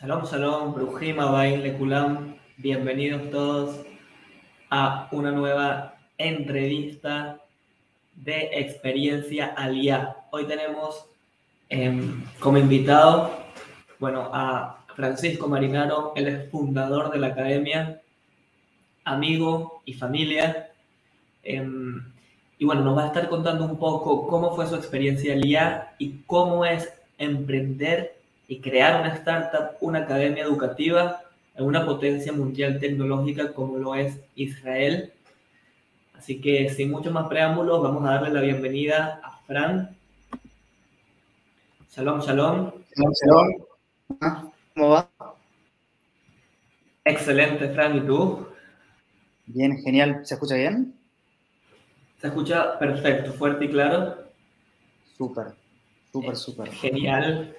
Shalom, shalom, Brujim, Abaim, Lekulam. Bienvenidos todos a una nueva entrevista de Experiencia Aliyah. Hoy tenemos como invitado, a Francisco Marinaro. Él es fundador de la academia, amigo y familia. Nos va a estar contando un poco cómo fue su experiencia Aliyah y cómo es emprender y crear una startup, una academia educativa en una potencia mundial tecnológica como lo es Israel. Así que sin mucho más preámbulos, vamos a darle la bienvenida a Fran. Shalom, shalom. Shalom, shalom. ¿Cómo va? Excelente, Fran. ¿Y tú? Bien, genial. ¿Se escucha bien? Se escucha perfecto, fuerte y claro. Súper, súper, súper. Genial.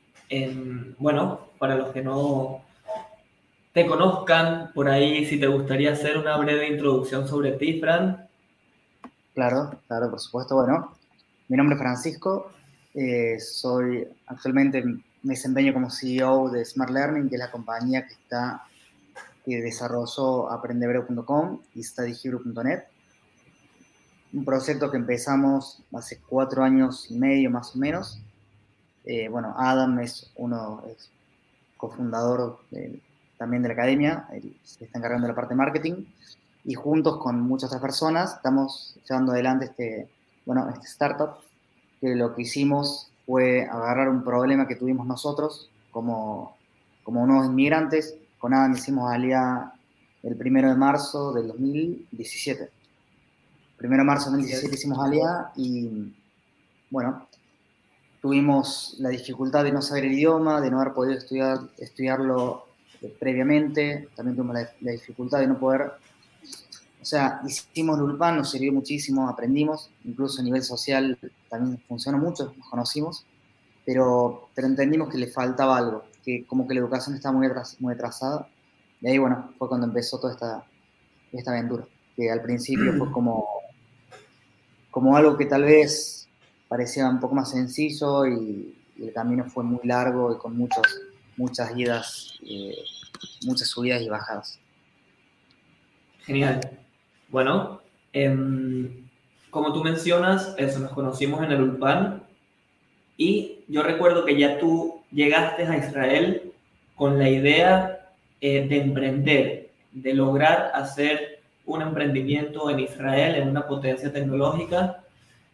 Para los que no te conozcan por ahí, si te gustaría hacer una breve introducción sobre ti, Fran. Claro, claro, por supuesto. Bueno, mi nombre es Francisco. Actualmente me desempeño como CEO de Smart Learning, que es la compañía que desarrolló aprendehebreo.com y studyhebrew.net. Un proyecto que empezamos hace 4 años y medio más o menos. Adam es cofundador también de la academia, él se está encargando de la parte de marketing, y juntos con muchas otras personas estamos llevando adelante este startup, que lo que hicimos fue agarrar un problema que tuvimos nosotros como unos inmigrantes. Con Adam hicimos Alia el 1 de marzo del 2017. 1 de marzo del 2017 hicimos Alia y, bueno, tuvimos la dificultad de no saber el idioma, de no haber podido estudiarlo previamente. También tuvimos la dificultad de no poder. O sea, hicimos Lulpan, nos sirvió muchísimo, aprendimos, incluso a nivel social también funcionó mucho, nos conocimos, pero entendimos que le faltaba algo, que como que la educación estaba muy atrasada. Y ahí, bueno, fue cuando empezó toda esta aventura, que al principio fue como algo que tal vez parecía un poco más sencillo, y el camino fue muy largo y con muchas idas, muchas subidas y bajadas. Genial. Bueno, como tú mencionas, eso, nos conocimos en el Ulpan y yo recuerdo que ya tú llegaste a Israel con la idea de emprender, de lograr hacer un emprendimiento en Israel, en una potencia tecnológica.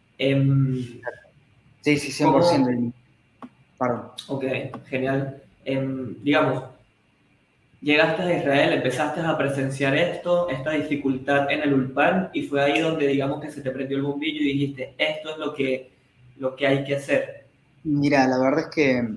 Sí, sí, 100%. ¿Cómo? Perdón. Ok, genial. Digamos, llegaste a Israel, empezaste a presenciar esta dificultad en el Ulpan, y fue ahí donde, digamos, que se te prendió el bombillo y dijiste, esto es lo que hay que hacer. Mira, la verdad es que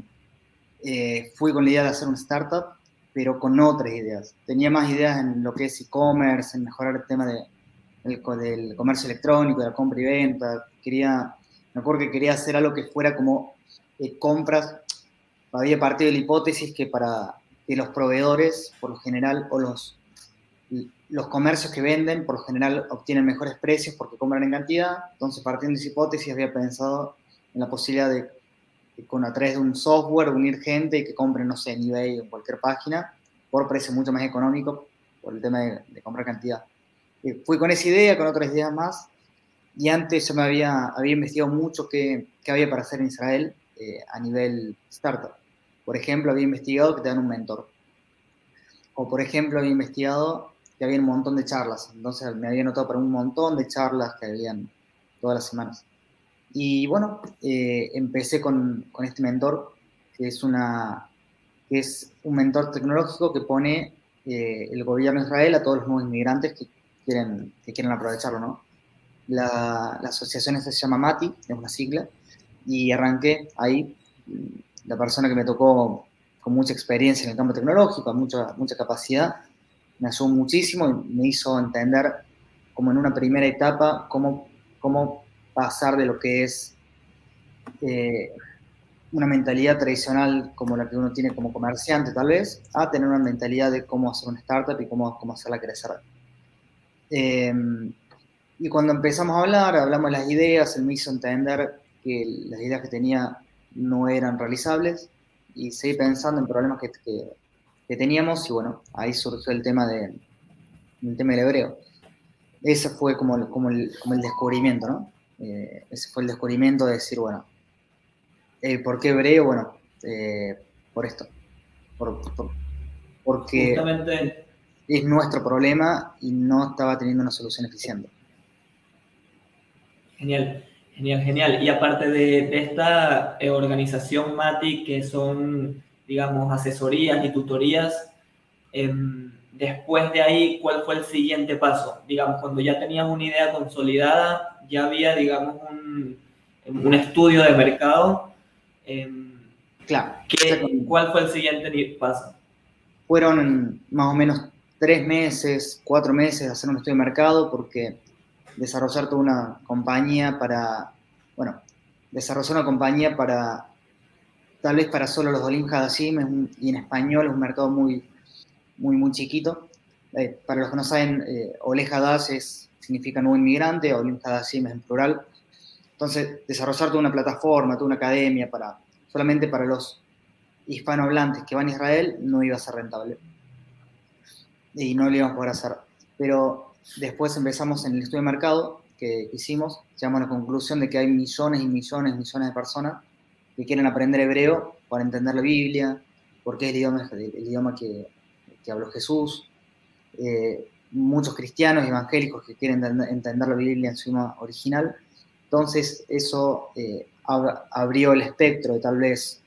fui con la idea de hacer un startup, pero con otras ideas. Tenía más ideas en lo que es e-commerce, en mejorar el tema del comercio electrónico, de la compra y venta. Me acuerdo que quería hacer algo que fuera como compras. Había partido de la hipótesis que para que los proveedores, por lo general, o los comercios que venden, por lo general obtienen mejores precios porque compran en cantidad. Entonces, partiendo de esa hipótesis, había pensado en la posibilidad a través de un software, unir gente y que compren, no sé, en eBay o en cualquier página, por precio mucho más económico, por el tema de comprar cantidad. Fui con esa idea, con otras ideas más, y antes yo había investigado mucho qué había para hacer en Israel a nivel startup. Por ejemplo, había investigado que te dan un mentor. O, por ejemplo, había investigado que había un montón de charlas. Entonces me había anotado para un montón de charlas que habían todas las semanas. Y bueno, empecé con este mentor, que es, que es un mentor tecnológico que pone el gobierno de Israel a todos los nuevos inmigrantes que quieren aprovecharlo, ¿no? La asociación esta se llama MATI, es una sigla, y arranqué ahí. La persona que me tocó con mucha experiencia en el campo tecnológico, mucha capacidad, me ayudó muchísimo y me hizo entender, como en una primera etapa, cómo pasar de lo que es eh, una mentalidad tradicional como la que uno tiene como comerciante, tal vez, a tener una mentalidad de cómo hacer una startup y cómo hacerla crecer. Eh, y cuando empezamos a hablar, hablamos de las ideas, él me hizo entender que las ideas que tenía no eran realizables, y seguí pensando en problemas que teníamos, y bueno, ahí surgió el tema del hebreo. Ese fue como el descubrimiento, ¿no? Ese fue el descubrimiento de decir, bueno, ¿por qué hebreo? Bueno, por esto, por, porque Justamente, es nuestro problema y no estaba teniendo una solución eficiente. genial, genial, genial. Y aparte de esta organización MATI, que son, digamos, asesorías y tutorías, después de ahí, ¿cuál fue el siguiente paso? Digamos, cuando ya tenías una idea consolidada, ya había, digamos, un estudio de mercado. Claro, exactamente. ¿Cuál fue el siguiente paso? Fueron más o menos 3 meses, 4 meses de hacer un estudio de mercado, porque desarrollar toda una compañía bueno, desarrollar una compañía tal vez para solo los Olim Hadashim, y en español es un mercado muy, muy, muy chiquito. Para los que no saben, Ole Hadash significa nuevo inmigrante, Olim Hadashim es en plural. Entonces, desarrollar toda una plataforma, toda una academia solamente para los hispanohablantes que van a Israel no iba a ser rentable y no lo íbamos a poder hacer. Pero después empezamos en el estudio de mercado que hicimos, llegamos a la conclusión de que hay millones y millones y millones de personas que quieren aprender hebreo para entender la Biblia, porque es el idioma que habló Jesús. Muchos cristianos y evangélicos que quieren entender la Biblia en su idioma original. Entonces, eso abrió el espectro de tal vez,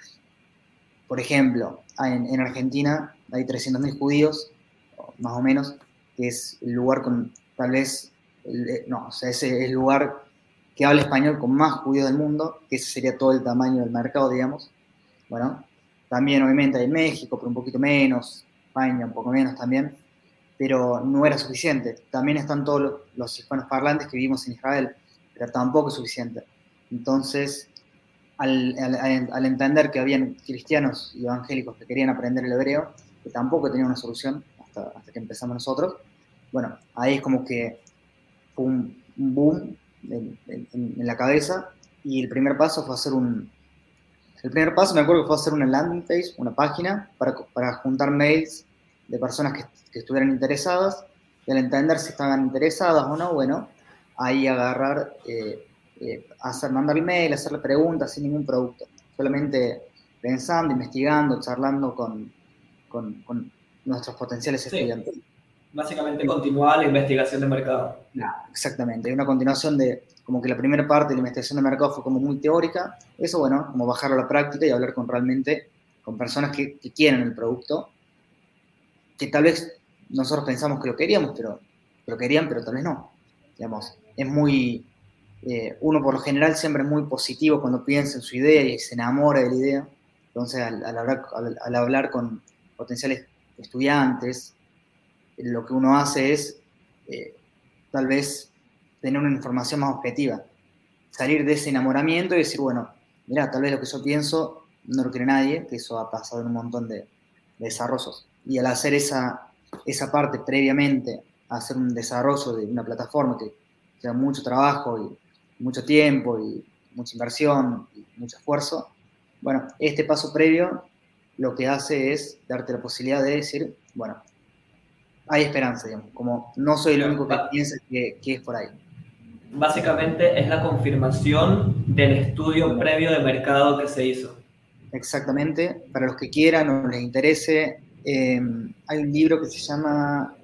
por ejemplo, en Argentina hay 300.000 judíos, más o menos, que es el lugar con, tal vez, no, o sea, ese es el lugar que habla español con más judíos del mundo, que ese sería todo el tamaño del mercado, digamos. Bueno, también obviamente hay México, pero un poquito menos, España un poco menos también, pero no era suficiente. También están todos los hispanos parlantes que vivimos en Israel, pero tampoco es suficiente. Entonces, al entender que habían cristianos y evangélicos que querían aprender el hebreo, que tampoco tenían una solución hasta que empezamos nosotros, bueno, ahí es como que fue un boom en la cabeza, y el primer paso fue el primer paso me acuerdo que fue hacer una landing page, una página para juntar mails de personas que estuvieran interesadas, y al entender si estaban interesadas o no, bueno, ahí agarrar, mandar email, hacerle preguntas sin ningún producto, solamente pensando, investigando, charlando con nuestros potenciales Sí, estudiantes. básicamente continuaba la investigación de mercado. Exactamente, hay una continuación de, como que la primera parte de la investigación de mercado fue como muy teórica, eso bueno, como bajarlo a la práctica y hablar con personas que quieren el producto, que tal vez nosotros pensamos que lo queríamos, pero querían, pero tal vez no. Digamos, es muy, uno por lo general siempre es muy positivo cuando piensa en su idea y se enamora de la idea. Entonces, al hablar con potenciales estudiantes, lo que uno hace es, eh, tal vez, tener una información más objetiva, salir de ese enamoramiento y decir, bueno, mira, tal vez lo que yo pienso no lo quiere nadie, que eso ha pasado en un montón de desarrollos. Y al hacer esa parte previamente, hacer un desarrollo de una plataforma que lleva mucho trabajo y mucho tiempo y mucha inversión y mucho esfuerzo, bueno, este paso previo lo que hace es darte la posibilidad de decir, bueno, hay esperanza, digamos, como no soy el único que piensa que es por ahí. Básicamente es la confirmación del estudio previo de mercado que se hizo. Exactamente, para los que quieran o les interese, hay un libro que se llama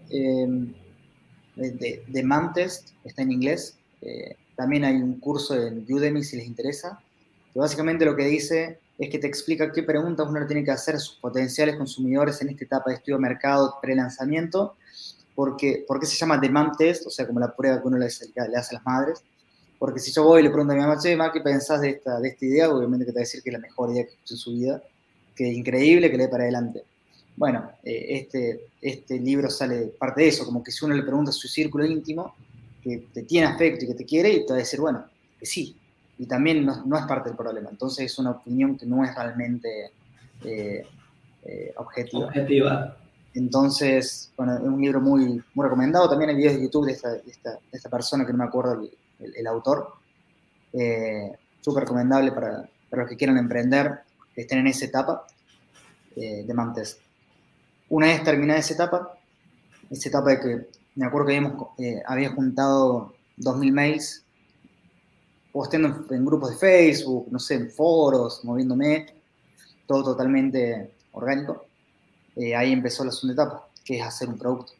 The Man Test, está en inglés. También hay un curso en Udemy si les interesa, que básicamente lo que dice es que te explica qué preguntas uno tiene que hacer a sus potenciales consumidores en esta etapa de estudio de mercado pre-lanzamiento, ¿por qué se llama The Man Test? O sea, como la prueba que uno le hace a las madres. Porque si yo voy y le pregunto a mi mamá, che, ma, ¿qué pensás de esta idea? Obviamente que te va a decir que es la mejor idea que escuchó en su vida, que es increíble, que le dé para adelante. Bueno, este libro sale parte de eso, como que si uno le pregunta a su círculo íntimo, que te tiene afecto y que te quiere, y te va a decir, bueno, que sí. Y también no es parte del problema. Entonces es una opinión que no es realmente eh, objetiva. Objetiva. Entonces, bueno, es un libro muy, muy recomendado. También hay videos de YouTube de esta persona que no me acuerdo el autor. Súper recomendable para los que quieran emprender. estén en esa etapa de Mamtest. Una vez terminada esa etapa de que me acuerdo que había juntado 2000 mails, posteando en grupos de Facebook, no sé, en foros, moviéndome, todo totalmente orgánico. Ahí empezó la segunda etapa, que es hacer un producto.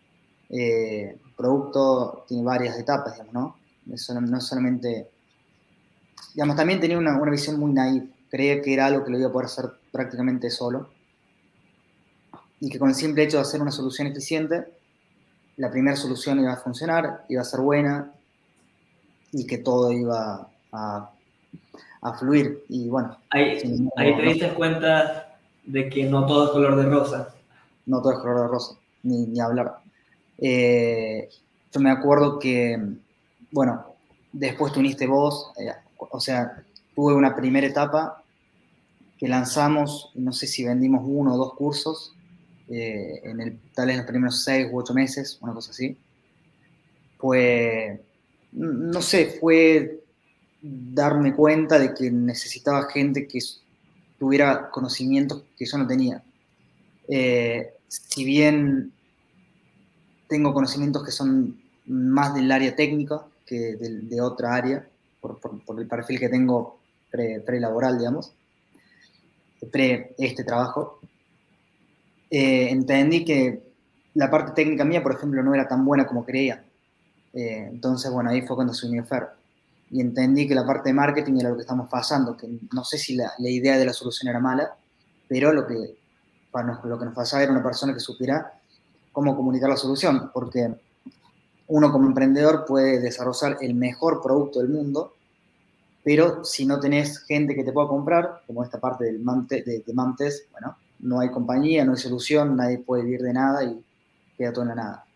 Producto tiene varias etapas, digamos, ¿no? No solamente, digamos, también tenía una visión muy naive. Creía que era algo que lo iba a poder hacer prácticamente solo y que con el simple hecho de hacer una solución eficiente, la primera solución iba a funcionar, iba a ser buena y que todo iba a fluir. Y bueno, sin Ahí embargo, te no, diste cuenta de que no todo es color de rosa. no todo es color de rosa, ni hablar. Yo me acuerdo que, bueno, después te uniste vos, o sea, tuve una primera etapa que lanzamos, no sé si vendimos 1 o 2 cursos, tal vez en los primeros 6 u 8 meses, una cosa así. No sé, fue darme cuenta de que necesitaba gente que tuviera conocimientos que yo no tenía. Si bien tengo conocimientos que son más del área técnica que de otra área, por el perfil que tengo pre-laboral, digamos, pre este trabajo, entendí que la parte técnica mía, por ejemplo, no era tan buena como creía. Entonces, bueno, ahí fue cuando se unió Fer. Y entendí que la parte de marketing era lo que estamos pasando, que no sé si la idea de la solución era mala, pero lo que nos pasaba era una persona que supiera cómo comunicar la solución, porque uno como emprendedor puede desarrollar el mejor producto del mundo, pero si no tenés gente que te pueda comprar, como esta parte de Mamtest, bueno, no hay compañía, no hay solución, nadie puede vivir de nada y queda todo en la nada.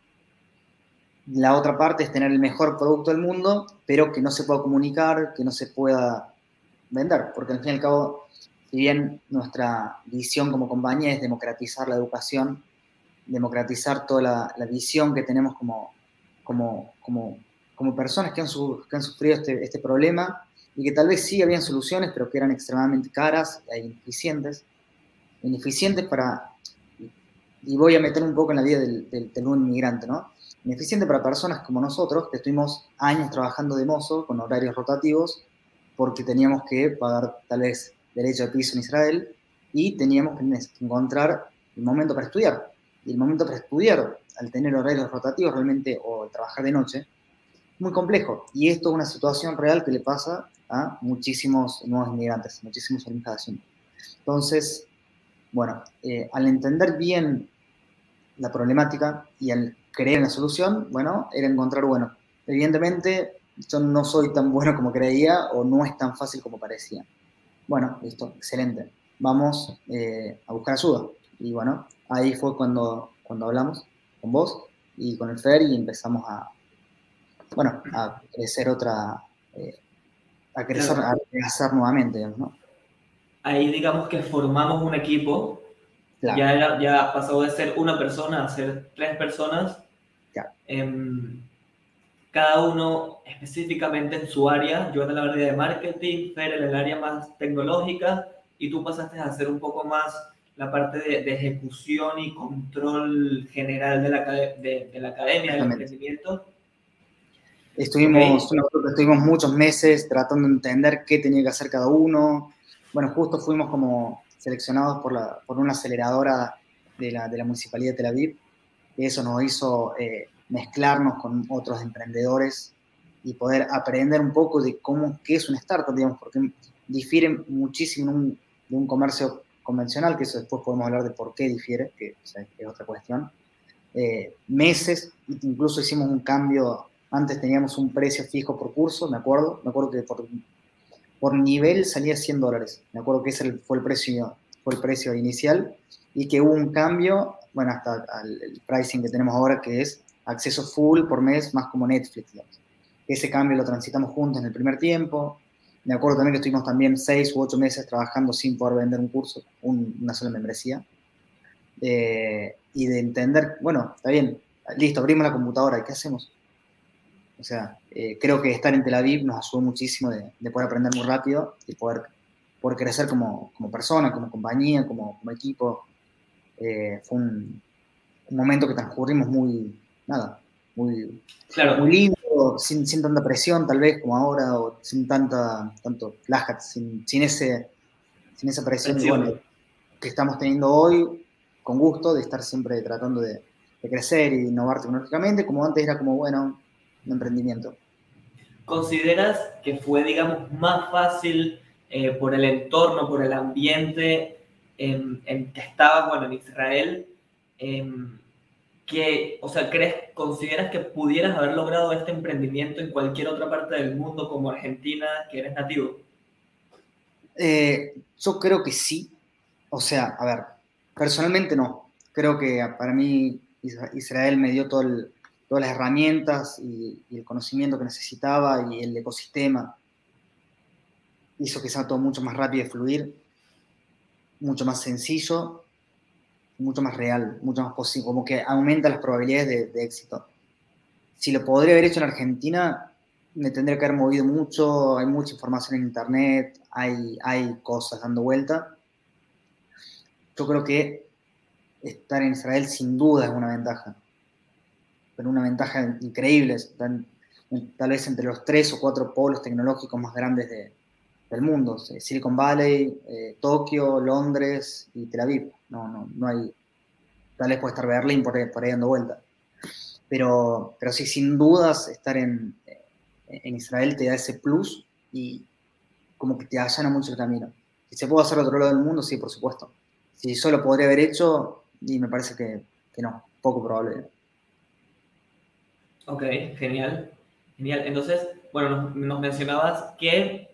La otra parte es tener el mejor producto del mundo, pero que no se pueda comunicar, que no se pueda vender, porque al fin y al cabo, si bien nuestra visión como compañía es democratizar la educación, democratizar toda la visión que tenemos como, como personas que han sufrido este problema y que tal vez sí habían soluciones, pero que eran extremadamente caras e ineficientes y voy a meter un poco en la vida del nuevo inmigrante, ¿no? Ineficiente para personas como nosotros, que estuvimos años trabajando de mozo con horarios rotativos, porque teníamos que pagar tal vez derecho de piso en Israel y teníamos que encontrar el momento para estudiar. Y el momento para estudiar, al tener horarios rotativos realmente o trabajar de noche, muy complejo. Y esto es una situación real que le pasa a muchísimos nuevos inmigrantes, muchísimos alumnos cada año. Entonces, bueno, al entender bien la problemática y al creer en la solución, bueno, era encontrar, bueno, evidentemente yo no soy tan bueno como creía o no es tan fácil como parecía. Bueno, listo, excelente. Vamos a buscar ayuda. Y bueno, ahí fue cuando hablamos con vos y con el Fer y empezamos bueno, a crecer a crecer, Claro, a hacer nuevamente, digamos, ¿no? ahí digamos que formamos un equipo, Claro, ya pasó de ser una persona a ser 3 personas, claro, cada uno específicamente en su área, yo en el área de marketing, Fer en el área más tecnológica, y tú pasaste a hacer un poco más la parte de ejecución y control general de la academia, del exactamente. emprendimiento. ¿Ok? Estuvimos muchos meses tratando de entender qué tenía que hacer cada uno. Bueno, justo fuimos como seleccionados por una aceleradora de la Municipalidad de Tel Aviv. Eso nos hizo mezclarnos con otros emprendedores y poder aprender un poco de qué es una startup, digamos, porque difiere muchísimo de un comercio convencional, que eso después podemos hablar de por qué difiere, que o sea, es otra cuestión. Meses, incluso hicimos un cambio, antes teníamos un precio fijo por curso, me acuerdo que por nivel salía $100, me acuerdo que ese fue el precio inicial, y que hubo un cambio, bueno, hasta el pricing que tenemos ahora, que es acceso full por mes, más como Netflix, digamos. Ese cambio lo transitamos juntos en el primer tiempo. Me acuerdo también que estuvimos también 6 u 8 meses trabajando sin poder vender un curso, una sola membresía, y de entender, bueno, está bien, listo, abrimos la computadora, ¿qué hacemos? O sea, creo que estar en Tel Aviv nos ayudó muchísimo de poder aprender muy rápido y poder por crecer como persona, como compañía, como equipo. Fue un momento que transcurrimos muy, muy Claro, lindo, sin tanta presión tal vez como ahora, o sin tanto flash, sin esa presión, bueno, presión. que estamos teniendo hoy, con gusto, de estar siempre tratando de crecer y innovar tecnológicamente, como antes era como, bueno, un emprendimiento. ¿Consideras que fue, digamos, más fácil por el entorno, por el ambiente en que estaba, bueno, en Israel, em, o sea, consideras que pudieras haber logrado este emprendimiento en cualquier otra parte del mundo como Argentina, que eres nativo? Yo creo que sí, o sea, a ver, personalmente no, creo que para mí Israel me dio todas las herramientas y el conocimiento que necesitaba y el ecosistema hizo que sea todo mucho más rápido de fluir, mucho más sencillo, mucho más real, mucho más posible, como que aumenta las probabilidades de éxito. Si lo podría haber hecho en Argentina, me tendría que haber movido mucho, hay mucha información en internet, hay cosas dando vuelta. Yo creo que estar en Israel sin duda es una ventaja, pero una ventaja increíble, tal vez entre los 3 o 4 polos tecnológicos más grandes del mundo, Silicon Valley, Tokio, Londres y Tel Aviv. No hay, tal vez puede estar Berlín por ahí dando vuelta. Pero sí, sin dudas, estar en Israel te da ese plus y como que te allana mucho el camino. Si se puede hacer a otro lado del mundo, sí, por supuesto. Si solo podría haber hecho, y me parece que no, poco probable. Ok, genial. Genial. Entonces, bueno, nos mencionabas que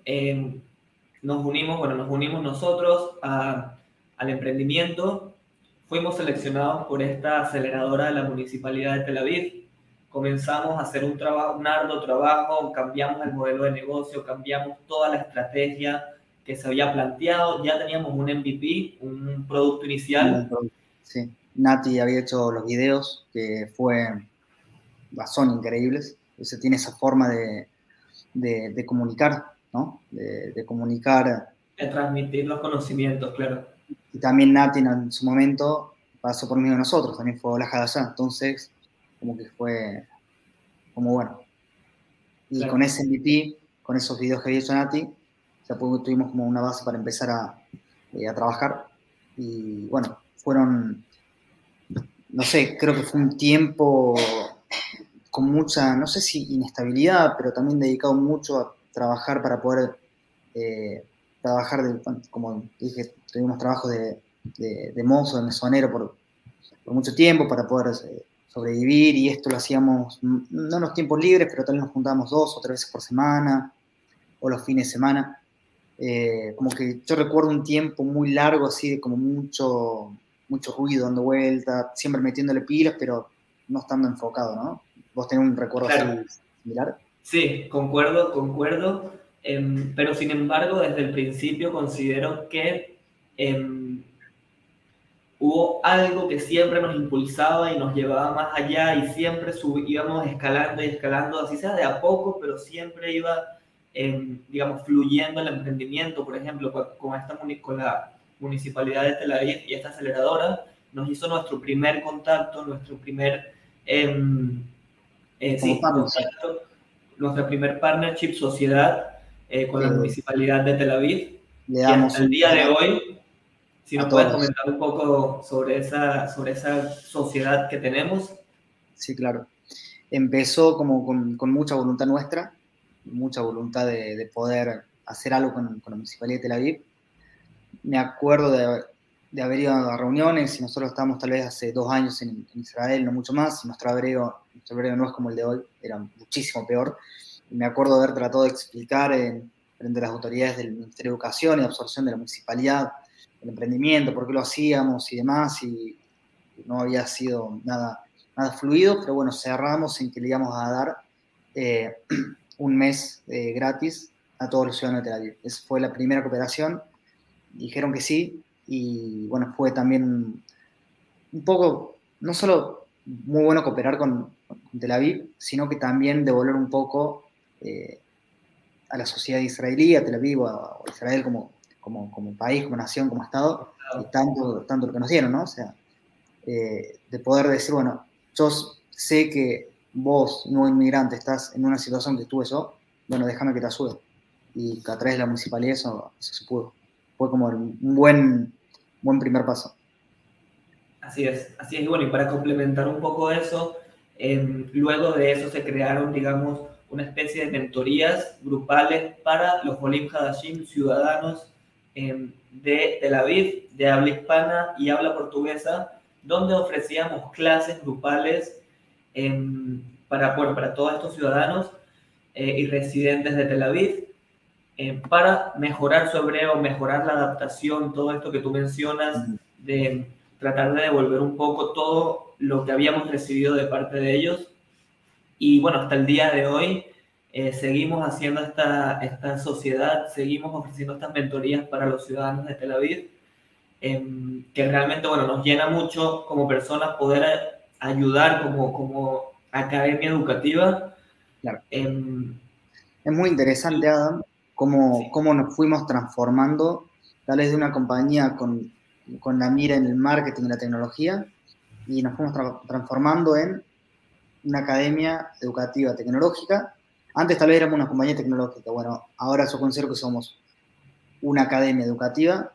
nos unimos nosotros al emprendimiento. Fuimos seleccionados por esta aceleradora de la Municipalidad de Tel Aviv. Comenzamos a hacer un arduo trabajo, cambiamos el modelo de negocio, cambiamos toda la estrategia que se había planteado. Ya teníamos un MVP, un producto inicial. Sí. Nati había hecho los videos que son increíbles. Ese tiene esa forma de comunicar, ¿no? De comunicar. De transmitir los conocimientos, claro. Y también Nati en su momento pasó por medio de nosotros, también fue Olaja de allá. Entonces, como que fue como bueno. Y con Claro. ese MVP, con esos videos que había hecho Nati, ya tuvimos como una base para empezar a trabajar. Y bueno, no sé, creo que fue un tiempo con mucha, no sé si inestabilidad, pero también dedicado mucho a trabajar para poder trabajar, como dije, tuvimos trabajo de mozo, de mesonero por mucho tiempo para poder sobrevivir y esto lo hacíamos no en los tiempos libres, pero también nos juntábamos 2 o 3 veces por semana o los fines de semana. Como que yo recuerdo un tiempo muy largo así de como mucho ruido dando vuelta, siempre metiéndole pilas, pero no estando enfocado, ¿no? ¿Vos tenés un recuerdo Claro. así similar? Sí, concuerdo, concuerdo. Pero sin embargo, desde el principio considero que hubo algo que siempre nos impulsaba y nos llevaba más allá y siempre íbamos escalando y escalando, así sea de a poco, pero siempre iba, digamos, fluyendo el emprendimiento. Por ejemplo, con la Municipalidad de Tel Aviv y esta aceleradora, nos hizo nuestro primer contacto, nuestro primer, Como sí, partners, contacto, nuestra primer partnership, sociedad con la que Municipalidad de Tel Aviv. le Y hasta damos el un día de lugar hoy, si a nos puedes todos. comentar un poco sobre esa sociedad que tenemos. Sí, claro. Empezó como con mucha voluntad nuestra, mucha voluntad de poder hacer algo con la Municipalidad de Tel Aviv. Me acuerdo de haber ido a reuniones y nosotros estábamos tal vez hace 2 años en Israel, no mucho más, y nuestro hebreo no es como el de hoy, era muchísimo peor. Y me acuerdo de haber tratado de explicar frente a las autoridades del Ministerio de Educación y de Absorción de la Municipalidad el emprendimiento, por qué lo hacíamos y demás, y no había sido nada fluido, pero bueno, cerramos en que le íbamos a dar eh, un mes gratis a todos los ciudadanos de Tel Aviv. Esa fue la primera cooperación, dijeron que sí, y bueno, fue también un poco, no solo muy bueno cooperar con Tel Aviv, sino que también devolver un poco a la sociedad israelí, a Tel Aviv o a Israel como país, como nación, como Estado, y tanto lo que nos dieron, ¿no? O sea, de poder decir, bueno, yo sé que vos, nuevo inmigrante, estás en una situación que estuve yo, bueno, déjame que te ayude. Y a través de la municipalidad eso se pudo. Fue como un buen primer paso. Así es, así es. Y bueno, y para complementar un poco eso, luego de eso se crearon, digamos, una especie de mentorías grupales para los Olim Hadashim, ciudadanos de Tel Aviv, de habla hispana y habla portuguesa, donde ofrecíamos clases grupales para todos estos ciudadanos y residentes de Tel Aviv, para mejorar su hebreo, mejorar la adaptación, todo esto que tú mencionas, de tratar de devolver un poco todo lo que habíamos recibido de parte de ellos. Y bueno, hasta el día de hoy seguimos haciendo esta sociedad, seguimos ofreciendo estas mentorías para los ciudadanos de Tel Aviv, que realmente, bueno, nos llena mucho como personas poder ayudar como academia educativa. Claro. Eh, Es muy interesante, Adam, sí, cómo nos fuimos transformando, tal vez de una compañía con la mira en el marketing y la tecnología, y nos fuimos transformando en una academia educativa tecnológica. Antes tal vez éramos una compañía tecnológica, bueno, ahora yo considero que somos una academia educativa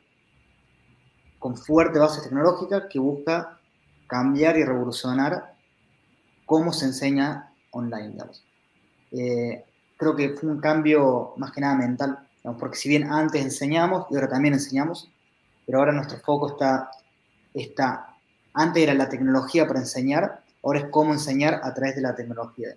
con fuerte base tecnológica que busca cambiar y revolucionar cómo se enseña online, digamos. Eh, Creo que fue un cambio más que nada mental, digamos, porque si bien antes enseñamos y ahora también enseñamos, pero ahora nuestro foco está, antes era la tecnología para enseñar, ahora es cómo enseñar a través de la tecnología.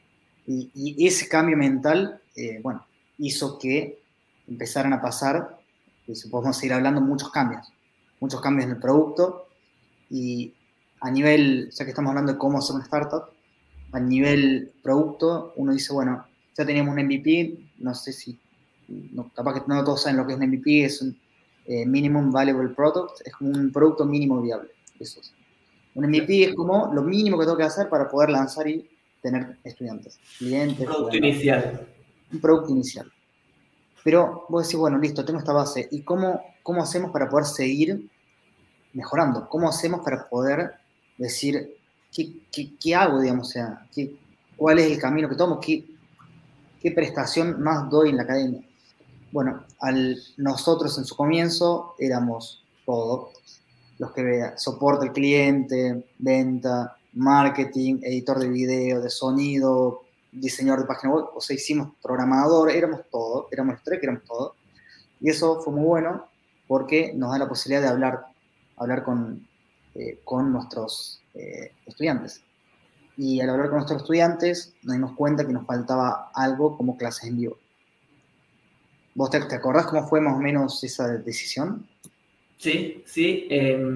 Y ese cambio mental, bueno, hizo que empezaran a pasar, y podemos seguir hablando, muchos cambios en el producto, y a nivel, ya que estamos hablando de cómo hacer una startup, a nivel producto, uno dice, bueno, ya teníamos un MVP, no sé si, no, capaz que no todos saben lo que es un MVP, es un Minimum Valuable Product, es como un producto mínimo viable. Eso es. Un MVP es como lo mínimo que tengo que hacer para poder lanzar y tener estudiantes, un clientes que producto vengan. inicial. Un producto inicial. Pero vos decís, bueno, listo, tengo esta base. ¿Y cómo hacemos para poder seguir mejorando? ¿Cómo hacemos para poder decir, qué hago, digamos? O sea, ¿cuál es el camino que tomo? ¿Qué prestación más doy en la academia? Bueno, nosotros en su comienzo éramos todo, los que vean, soporte al cliente, venta, marketing, editor de video, de sonido, diseñador de página web, o sea, hicimos programador, éramos todo, éramos los tres que éramos todo. Y eso fue muy bueno porque nos da la posibilidad de hablar con nuestros estudiantes. Y al hablar con nuestros estudiantes nos dimos cuenta que nos faltaba algo como clases en vivo. ¿Vos te acordás cómo fue más o menos esa decisión? Sí, sí.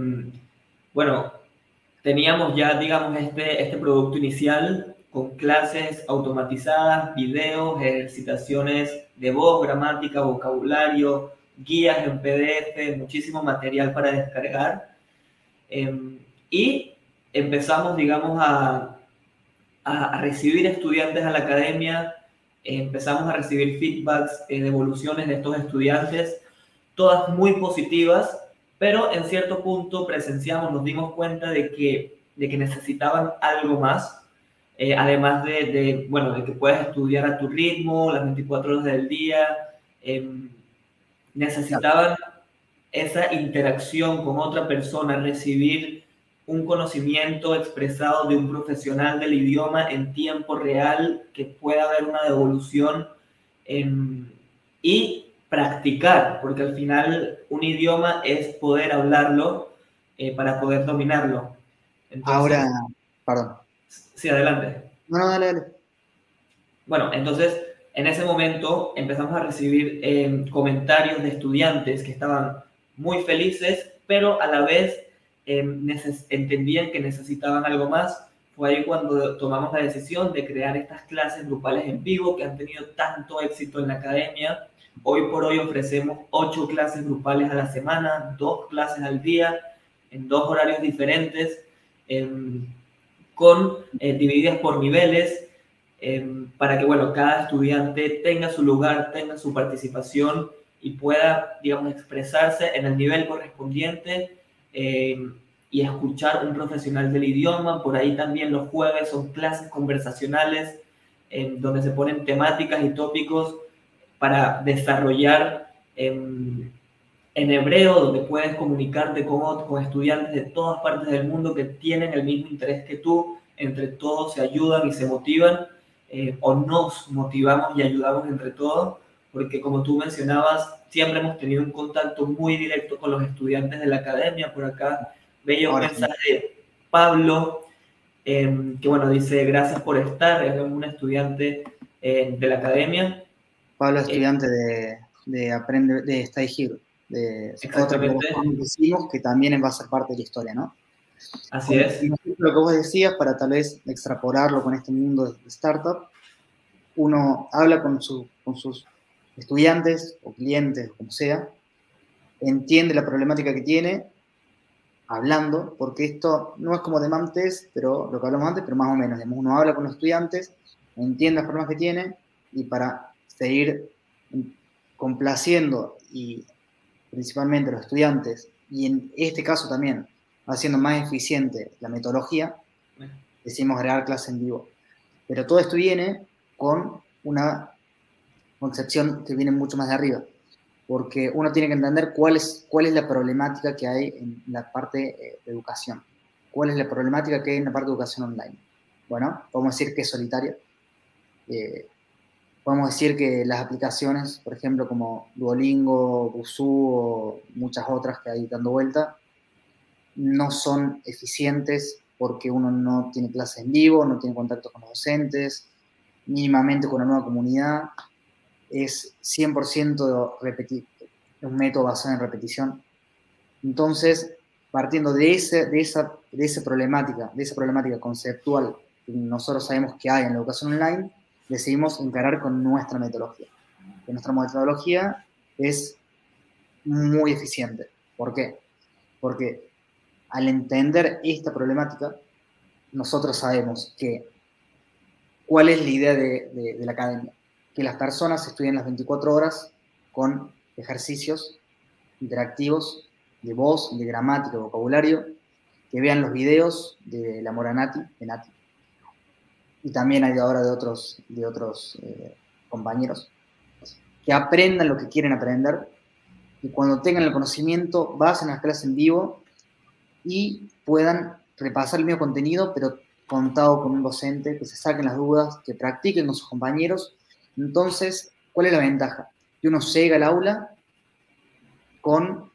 Bueno, teníamos ya, digamos, este producto inicial con clases automatizadas, videos, ejercitaciones de voz, gramática, vocabulario, guías en PDF, muchísimo material para descargar. Y empezamos, digamos, a recibir estudiantes a la academia, empezamos a recibir feedbacks, devoluciones de estos estudiantes, todas muy positivas, pero en cierto punto presenciamos, nos dimos cuenta de que necesitaban algo más, además bueno, de que puedes estudiar a tu ritmo, las 24 horas del día, eh, necesitaban esa interacción con otra persona, recibir un conocimiento expresado de un profesional del idioma en tiempo real, que pueda haber una devolución y practicar, porque al final un idioma es poder hablarlo para poder dominarlo. Ahora, Entonces, perdón. sí, adelante. No, no, dale, dale. Bueno, entonces en ese momento empezamos a recibir comentarios de estudiantes que estaban muy felices, pero a la vez entendían que necesitaban algo más. Fue ahí cuando tomamos la decisión de crear estas clases grupales en vivo que han tenido tanto éxito en la academia. Hoy por hoy ofrecemos 8 clases grupales a la semana, 2 clases al día, en 2 horarios diferentes, divididas por niveles, para que, bueno, cada estudiante tenga su lugar, tenga su participación y pueda, digamos, expresarse en el nivel correspondiente y escuchar un profesional del idioma. Por ahí también los jueves son clases conversacionales donde se ponen temáticas y tópicos para desarrollar en hebreo, donde puedes comunicarte con estudiantes de todas partes del mundo que tienen el mismo interés que tú. Entre todos se ayudan y se motivan, o nos motivamos y ayudamos entre todos, porque como tú mencionabas, siempre hemos tenido un contacto muy directo con los estudiantes de la academia. Por acá veía un Ahora sí. mensaje de Pablo, que bueno, dice, gracias por estar, es un estudiante de la academia. Pablo, estudiante de Aprende, de Stay Here, de otra Exactamente, plataforma que hicimos que también va a ser parte de la historia, ¿no? así es. Y lo que vos decías, para tal vez extrapolarlo con este mundo de startup, uno habla con sus estudiantes o clientes, como sea, entiende la problemática que tiene, hablando, porque esto no es como demand test, pero lo que hablamos antes, pero más o menos, digamos, uno habla con los estudiantes, entiende los problemas que tiene, y para seguir complaciendo y principalmente a los estudiantes, y en este caso también haciendo más eficiente la metodología, decimos agregar clase en vivo. Pero todo esto viene con una concepción que viene mucho más de arriba, porque uno tiene que entender cuál es la problemática que hay en la parte de educación, cuál es la problemática que hay en la parte de educación online. Bueno, podemos decir que es solitaria, podemos decir que las aplicaciones, por ejemplo, como Duolingo, Busuu o muchas otras que hay dando vuelta, no son eficientes porque uno no tiene clases en vivo, no tiene contacto con los docentes, mínimamente con la nueva comunidad, es 100% un método basado en repetición. Entonces, partiendo de esa problemática conceptual que nosotros sabemos que hay en la educación online, decidimos encarar con nuestra metodología. Que nuestra metodología es muy eficiente. ¿Por qué? Porque al entender esta problemática, nosotros sabemos que cuál es la idea de la academia. Que las personas estudien las 24 horas con ejercicios interactivos de voz, de gramática, de vocabulario, que vean los videos de la Moranati, de Nati, y también hay ahora de otros compañeros, que aprendan lo que quieren aprender, y cuando tengan el conocimiento, vayan a las clases en vivo y puedan repasar el mismo contenido, pero contado con un docente, que se saquen las dudas, que practiquen con sus compañeros. Entonces, ¿cuál es la ventaja? Que uno llega al aula con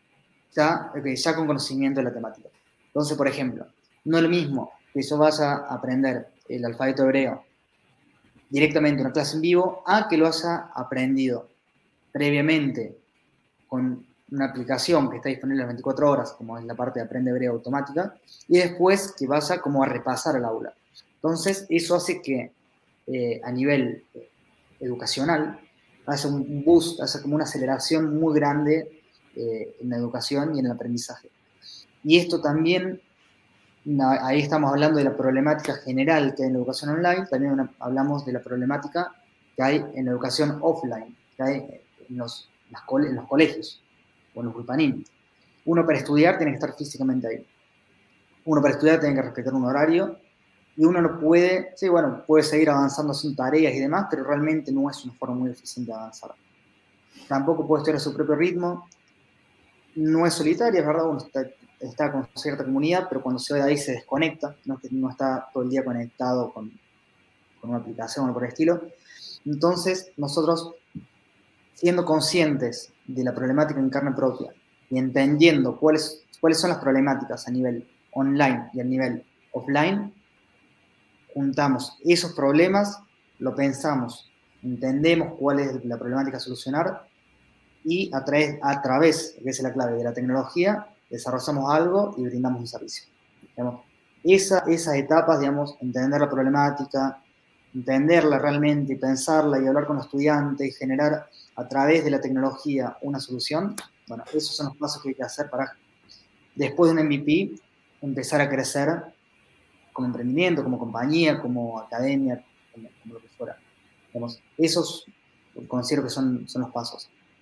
ya con conocimiento de la temática. Entonces, por ejemplo, no es lo mismo que yo vaya a aprender el alfabeto hebreo directamente en una clase en vivo a que lo haya aprendido previamente con una aplicación que está disponible las 24 horas, como es la parte de Aprende Hebreo automática, y después que vaya como a repasar el aula. Entonces, eso hace que a nivel educacional hace un boost, hace como una aceleración muy grande en la educación y en el aprendizaje. Y esto también, ahí estamos hablando de la problemática general que hay en la educación online, también hablamos de la problemática que hay en la educación offline, que hay en los colegios o en los ulpanim. Uno para estudiar tiene que estar físicamente ahí. Uno para estudiar tiene que respetar un horario y uno no puede, sí, bueno, puede seguir avanzando sin tareas y demás, pero realmente no es una forma muy eficiente de avanzar. Tampoco puede estudiar a su propio ritmo, no es solitaria, es verdad, uno está con cierta comunidad, pero cuando se va de ahí se desconecta, no está todo el día conectado con una aplicación o por el estilo. Entonces, nosotros, siendo conscientes de la problemática en carne propia y entendiendo cuáles son las problemáticas a nivel online y a nivel offline, juntamos esos problemas, lo pensamos, entendemos cuál es la problemática a solucionar y a través, que es la clave de la tecnología, desarrollamos algo y brindamos un servicio. Digamos, esas etapas, digamos, entender la problemática, entenderla realmente y pensarla y hablar con los estudiantes y generar a través de la tecnología una solución, bueno, esos son los pasos que hay que hacer para, después de un MVP, empezar a crecer como emprendimiento, como compañía, como academia, como lo que fuera. Digamos, esos considero que son los pasos.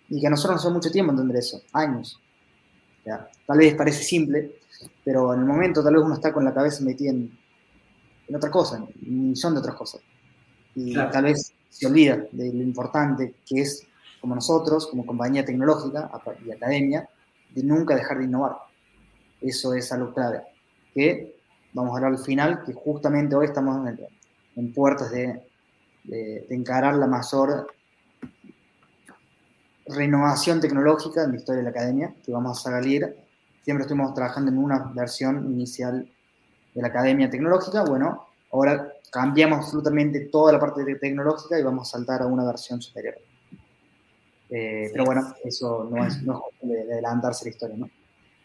Y que a nosotros nos lleva mucho tiempo entender eso, años. O sea, tal vez parece simple, pero en el momento tal vez uno está con la cabeza metida en otra cosa, en un millón de otras cosas. Y Claro. tal vez se olvida de lo importante que es, como nosotros, como compañía tecnológica y academia, de nunca dejar de innovar. Eso es algo clave. Que vamos a hablar al final, que justamente hoy estamos en puertas de encarar la mayor renovación tecnológica en la historia de la academia, que vamos a salir. Siempre estuvimos trabajando en una versión inicial de la academia tecnológica. Bueno, ahora cambiamos absolutamente toda la parte tecnológica y vamos a saltar a una versión superior. Pero Sí. bueno, eso no es cuestión de adelantarse la historia, ¿no?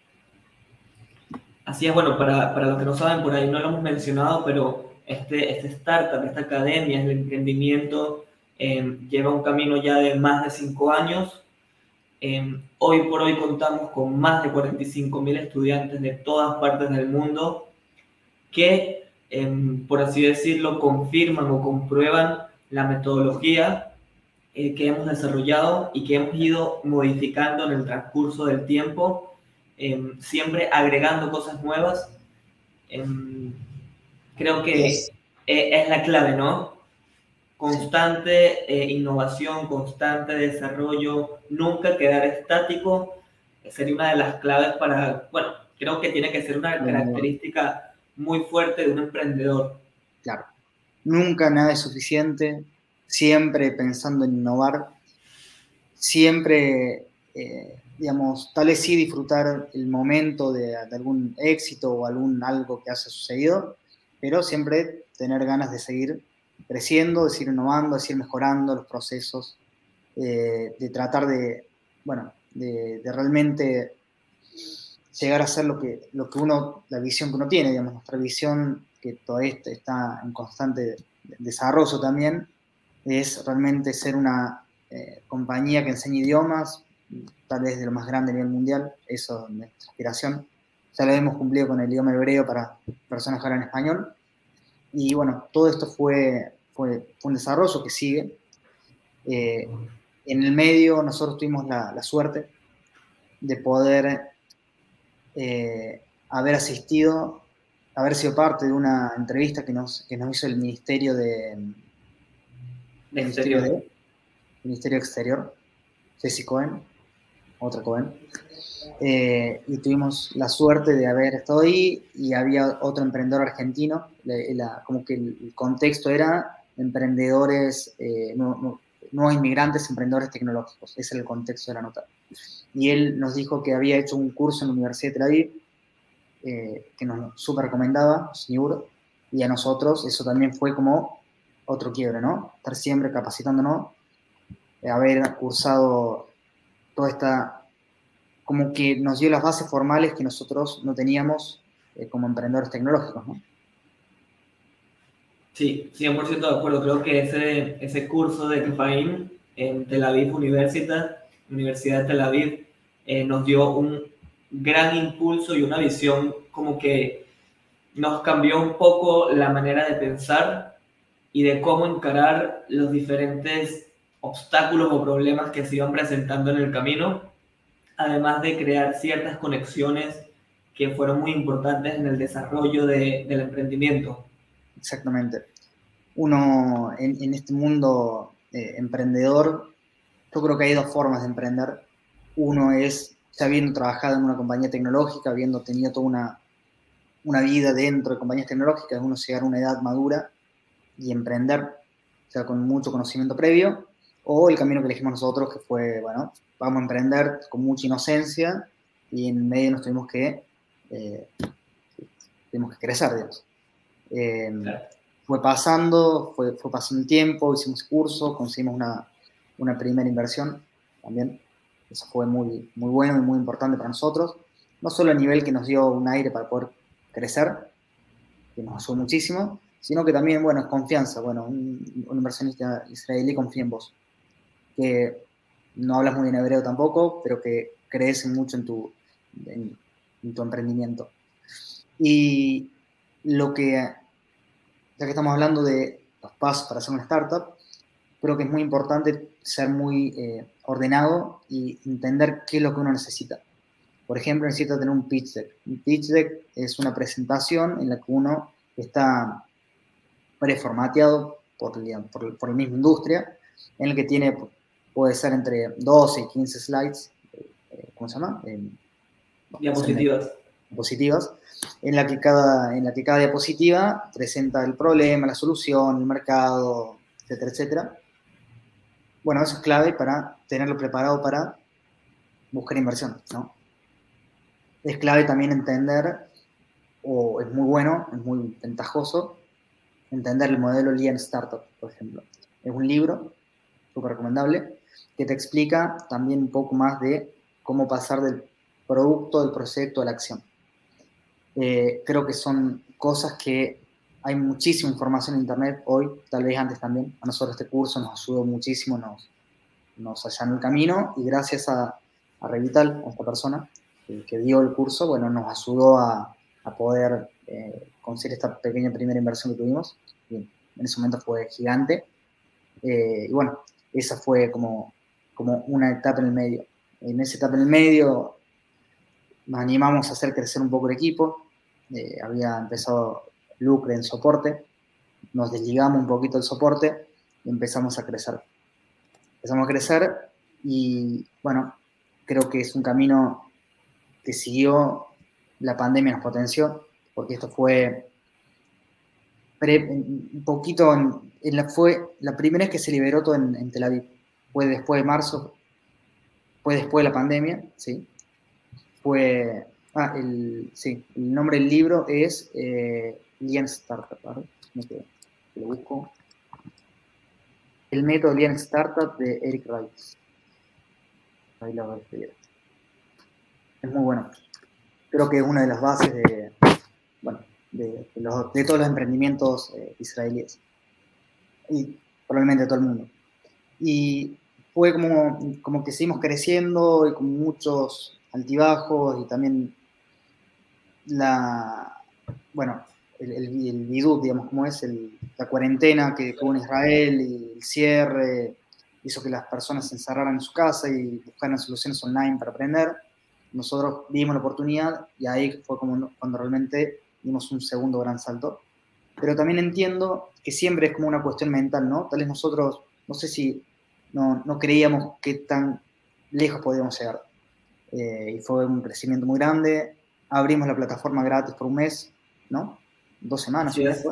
Así es, bueno, para los que no saben, por ahí no lo hemos mencionado, pero este startup, esta academia, el emprendimiento, lleva un camino ya de más de 5 años. Hoy por hoy contamos con más de 45.000 estudiantes de todas partes del mundo que, por así decirlo, confirman o comprueban la metodología que hemos desarrollado y que hemos ido modificando en el transcurso del tiempo, siempre agregando cosas nuevas. Em, Creo que Es, es la clave, ¿no? sí, Constante innovación, constante desarrollo, nunca quedar estático, sería una de las claves para, bueno, creo que tiene que ser una característica muy fuerte de un emprendedor. claro. Nunca nada es suficiente, siempre pensando en innovar, siempre, digamos, tal vez sí disfrutar el momento de algún éxito o algo que haya sucedido, pero siempre tener ganas de seguir creciendo, de seguir innovando, de seguir mejorando los procesos, de tratar bueno, de realmente llegar a ser lo que uno, la visión que uno tiene, digamos, nuestra visión que todavía está en constante desarrollo también, es realmente ser una compañía que enseñe idiomas, tal vez de lo más grande a nivel mundial, eso es nuestra aspiración. Ya lo hemos cumplido con el idioma hebreo para personas que hablan español. Y bueno, todo esto fue un desarrollo que sigue. Eh, en el medio nosotros tuvimos la suerte de poder haber asistido, haber sido parte de una entrevista que nos hizo el Ministerio Exterior. de Ministerio Exterior, Jesse Cohen, otra Cohen, y tuvimos la suerte de haber estado ahí y había otro emprendedor argentino, como que el contexto era emprendedores, nuevos inmigrantes, emprendedores tecnológicos, ese era el contexto de la nota. Y él nos dijo que había hecho un curso en la Universidad de Tel Aviv, que nos súper recomendaba, seguro, y a nosotros eso también fue como otro quiebre, ¿no? Estar siempre capacitándonos, haber cursado toda esta, como que nos dio las bases formales que nosotros no teníamos como emprendedores tecnológicos, ¿no? Sí, 100% de acuerdo. Creo que ese curso de Kefaim en Tel Aviv Universidad de Tel Aviv, nos dio un gran impulso y una visión como que nos cambió un poco la manera de pensar y de cómo encarar los diferentes obstáculos o problemas que se iban presentando en el camino, además de crear ciertas conexiones que fueron muy importantes en el desarrollo del emprendimiento. Exactamente. Uno en este mundo emprendedor, yo creo que hay dos formas de emprender. Uno es ya habiendo trabajado en una compañía tecnológica, habiendo tenido toda una vida dentro de compañías tecnológicas, uno llegar a una edad madura y emprender, o sea, con mucho conocimiento previo, o el camino que elegimos nosotros, que fue, bueno, vamos a emprender con mucha inocencia y en medio nos eh, tuvimos que crecer, digamos. Eh, Claro. fue pasando el tiempo, hicimos curso, conseguimos una primera inversión también. Eso fue muy, muy bueno y muy importante para nosotros. No solo a nivel que nos dio un aire para poder crecer, que nos ayudó muchísimo, sino que también, bueno, es confianza. Bueno, un inversionista israelí confía en vos, que no hablas muy bien hebreo tampoco, pero que crees mucho en, en tu emprendimiento. Y lo que, ya que estamos hablando de los pasos para hacer una startup, creo que es muy importante ser muy ordenado y entender qué es lo que uno necesita. Por ejemplo, necesita tener un pitch deck. Un pitch deck es una presentación en la que uno está preformateado por la misma industria, en el que tiene, puede ser entre 12 y 15 slides, ¿cómo se llama? Diapositivas. Diapositivas, en la que cada diapositiva presenta el problema, la solución, el mercado, etcétera, etcétera. Bueno, eso es clave para tenerlo preparado para buscar inversión, ¿no? Es clave también entender, o es muy bueno, es muy ventajoso, entender el modelo Lean Startup, por ejemplo. Es un libro súper recomendable que te explica también un poco más de cómo pasar del producto, del proyecto a la acción. Creo que son cosas que hay muchísima información en internet hoy, tal vez antes también. A nosotros este curso nos ayudó muchísimo, nos allanó el camino y gracias a Revital, a esta persona que dio el curso, bueno, nos ayudó a poder conseguir esta pequeña primera inversión que tuvimos. Y en ese momento fue gigante. Y bueno, esa fue como una etapa en el medio. En esa etapa en el medio nos animamos a hacer crecer un poco el equipo. Había empezado Lucre en soporte, nos desligamos un poquito del soporte y empezamos a crecer. Empezamos a crecer y, bueno, creo que es un camino que siguió, la pandemia nos potenció, porque esto fue un poquito, fue la primera vez que se liberó todo en Tel Aviv. Fue después de marzo, fue después de la pandemia, ¿sí? El nombre del libro es Lean Startup, ¿vale? Lo busco. El método Lean Startup de Eric Rice. Ahí lo voy a escribir. Es muy bueno. Creo que es una de las bases de todos los emprendimientos israelíes. Y probablemente de todo el mundo. Y fue como que seguimos creciendo y con muchos altibajos y también el bidú, digamos, como es la cuarentena que hubo en Israel y el cierre hizo que las personas se encerraran en su casa y buscaran soluciones online para aprender. Nosotros vimos la oportunidad y ahí fue cuando realmente dimos un segundo gran salto. Pero también entiendo que siempre es como una cuestión mental, ¿no? Tal vez nosotros, no sé si no creíamos qué tan lejos podíamos llegar. Y fue un crecimiento muy grande. Abrimos la plataforma gratis por un mes, ¿no? 2 semanas, Sí, un mes.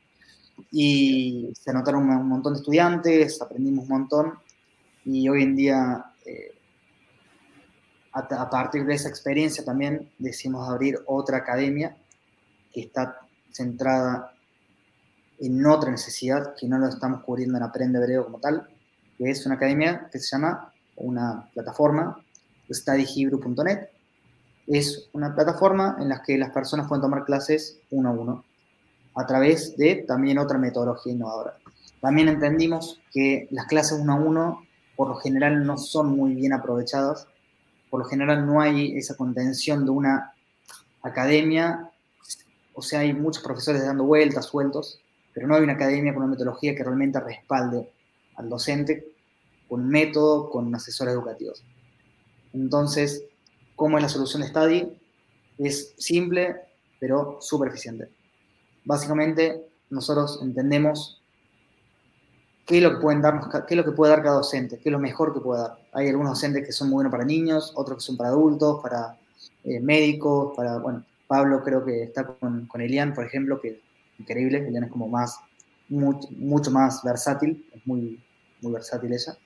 Y se anotaron un montón de estudiantes, aprendimos un montón. Y hoy en día, a partir de esa experiencia también decidimos abrir otra academia que está centrada en otra necesidad, que no lo estamos cubriendo en Aprende Hebreo como tal, que es una academia que se llama, una plataforma, studyhebrew.net. Es una plataforma en la que las personas pueden tomar clases uno a uno a través de también otra metodología innovadora. También entendimos que las clases uno a uno por lo general no son muy bien aprovechadas, por lo general no hay esa contención de una academia, o sea, hay muchos profesores dando vueltas, sueltos, pero no hay una academia con una metodología que realmente respalde al docente con un método, con asesores educativos. Entonces, ¿cómo es la solución de Study? Es simple, pero súper eficiente. Básicamente, nosotros entendemos qué es lo que pueden darnos, qué es lo que puede dar cada docente, qué es lo mejor que puede dar. Hay algunos docentes que son muy buenos para niños, otros que son para adultos, para médicos, Pablo creo que está con Elian, por ejemplo, que es increíble. Elian es como mucho más versátil, es muy, muy versátil ella.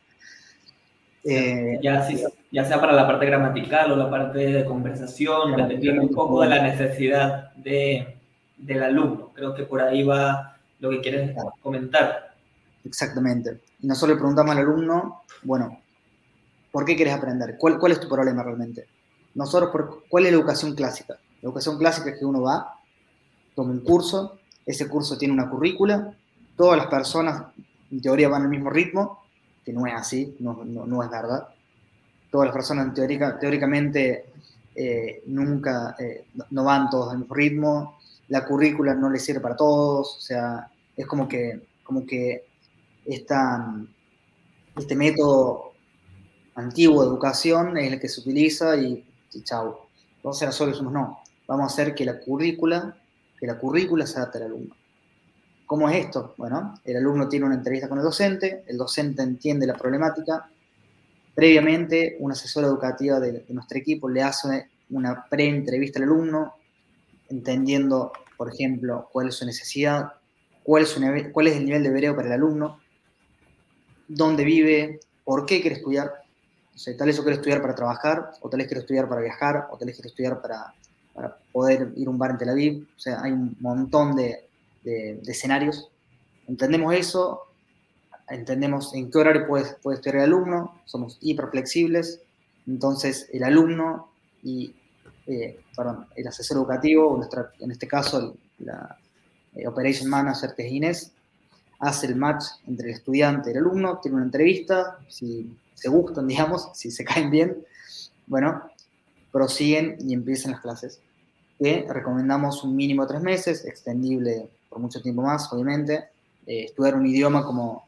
Ya sea para la parte gramatical o la parte de conversación, dependiendo un poco de la necesidad del alumno. Creo que por ahí va lo que quieres comentar. Exactamente. Y nosotros le preguntamos al alumno, bueno, ¿por qué quieres aprender? ¿Cuál es tu problema realmente? ¿Cuál es la educación clásica? La educación clásica es que uno va, toma un curso, ese curso tiene una currícula, todas las personas en teoría van al mismo ritmo, que no es así, no es verdad. Todas las personas teóricamente nunca, no van todos al mismo ritmo, la currícula no les sirve para todos, o sea, es como que este método antiguo de educación es el que se utiliza y chau. Entonces nosotros decimos, no, vamos a hacer que la currícula se adapte al alumno. ¿Cómo es esto? Bueno, el alumno tiene una entrevista con el docente entiende la problemática. Previamente, una asesora educativa de nuestro equipo le hace una pre-entrevista al alumno, entendiendo, por ejemplo, cuál es su necesidad, cuál es el nivel de hebreo para el alumno, dónde vive, por qué quiere estudiar. O sea, tal vez yo quiero estudiar para trabajar, o tal vez quiero estudiar para viajar, o tal vez quiero estudiar para poder ir a un bar en Tel Aviv. O sea, hay un montón de escenarios. Entendemos eso, entendemos en qué horario puede estudiar el alumno, somos hiperflexibles, entonces el alumno y, el asesor educativo, en este caso la Operation Manager, que es Inés, hace el match entre el estudiante y el alumno, tiene una entrevista, si se gustan, digamos, si se caen bien, bueno, prosiguen y empiezan las clases. Que recomendamos un mínimo de 3 meses, extendible por mucho tiempo más, obviamente. Estudiar un idioma como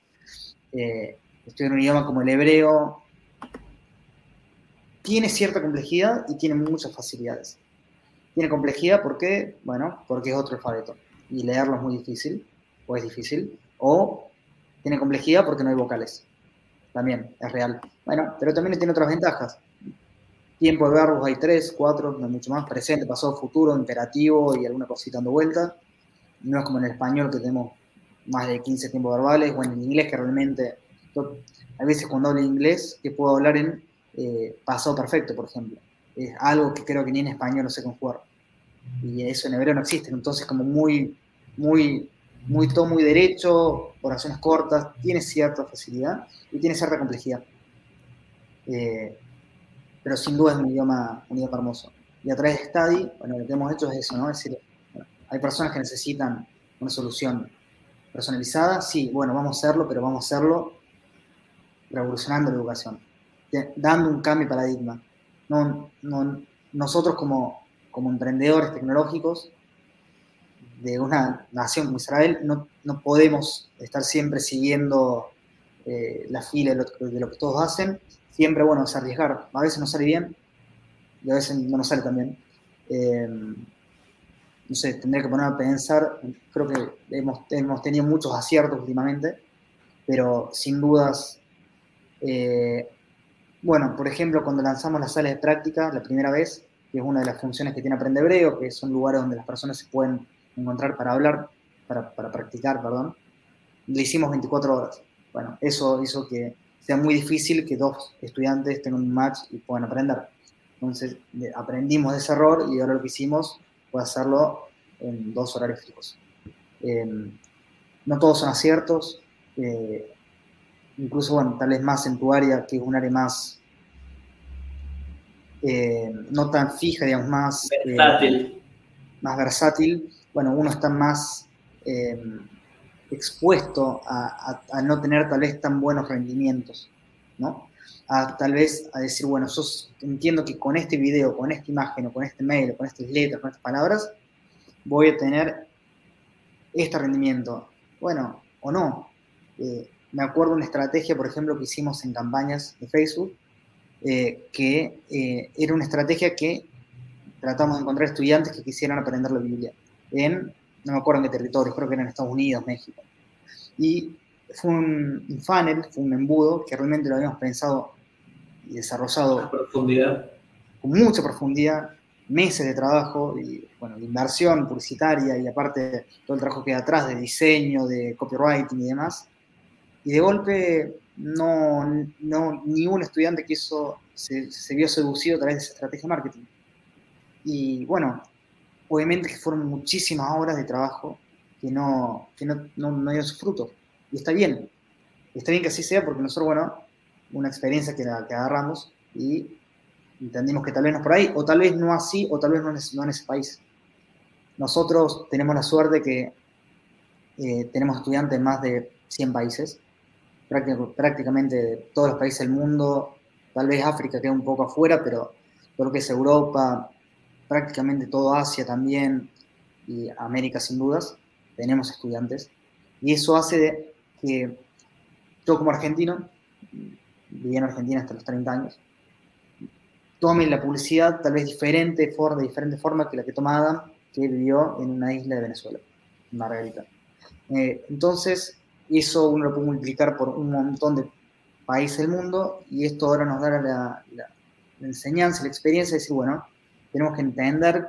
el hebreo tiene cierta complejidad y tiene muchas facilidades. Tiene complejidad porque, bueno, porque es otro alfabeto y leerlo es muy difícil, o es difícil, o tiene complejidad porque no hay vocales. También es real. Bueno, pero también tiene otras ventajas. Tiempo de verbos hay 3, 4, no mucho más. Presente, pasado, futuro, imperativo y alguna cosita dando vuelta. No es como en el español que tenemos más de 15 tiempos verbales, o en el inglés que realmente, yo, a veces cuando hablo inglés, que puedo hablar en pasado perfecto, por ejemplo. Es algo que creo que ni en español no sé conjugar. Y eso en hebreo no existe. Entonces, como todo muy derecho, oraciones cortas, tiene cierta facilidad y tiene cierta complejidad. Pero sin duda es un idioma hermoso. Y a través de Study, bueno, lo que hemos hecho es eso, ¿no? Es decir, bueno, hay personas que necesitan una solución personalizada, sí, bueno, vamos a hacerlo, pero vamos a hacerlo revolucionando la educación, dando un cambio de paradigma. Nosotros como emprendedores tecnológicos de una nación como Israel no podemos estar siempre siguiendo la fila de lo que todos hacen. Siempre, bueno, es arriesgar. A veces nos sale bien y a veces no nos sale tan bien. No sé, tendría que ponerme a pensar. Creo que hemos tenido muchos aciertos últimamente, pero sin dudas, bueno, por ejemplo, cuando lanzamos las salas de práctica la primera vez, que es una de las funciones que tiene Aprende Hebreo, que son lugares donde las personas se pueden encontrar para hablar, para practicar, perdón, le hicimos 24 horas. Bueno, eso hizo que sea muy difícil que 2 estudiantes tengan un match y puedan aprender. Entonces, aprendimos de ese error y ahora lo que hicimos fue hacerlo en 2 horarios fijos. No todos son aciertos, incluso, bueno, tal vez más en tu área, que es un área más, no tan fija, digamos, más versátil. Bueno, uno está más expuesto a no tener tal vez tan buenos rendimientos, ¿no? Tal vez a decir, bueno, yo entiendo que con este video, con esta imagen, o con este mail, o con estas letras, con estas palabras, voy a tener este rendimiento. Bueno, o no. Me acuerdo una estrategia, por ejemplo, que hicimos en campañas de Facebook, que era una estrategia que tratamos de encontrar estudiantes que quisieran aprender la Biblia no me acuerdo en qué territorio, creo que era en Estados Unidos, México. Y fue un funnel, fue un embudo que realmente lo habíamos pensado y desarrollado con mucha profundidad, meses de trabajo y, bueno, de inversión publicitaria y aparte todo el trabajo que hay atrás de diseño, de copywriting y demás. Y de golpe ni un estudiante se vio seducido a través de esa estrategia de marketing. Y bueno, obviamente que fueron muchísimas horas de trabajo que no dieron sus frutos. Y está bien que así sea porque nosotros, bueno, una experiencia que agarramos y entendimos que tal vez no es por ahí, o tal vez no así, o tal vez no en ese país. Nosotros tenemos la suerte que tenemos estudiantes en más de 100 países, prácticamente de todos los países del mundo, tal vez África queda un poco afuera, pero todo lo que es Europa, prácticamente todo Asia también, y América sin dudas, tenemos estudiantes. Y eso hace que yo como argentino vivía en Argentina hasta los 30 años, tome la publicidad tal vez de diferente forma que la que toma Adam, que vivió en una isla de Venezuela, Margarita. Entonces, eso uno lo puede multiplicar por un montón de países del mundo, y esto ahora nos da la enseñanza, la experiencia de decir, bueno, tenemos que entender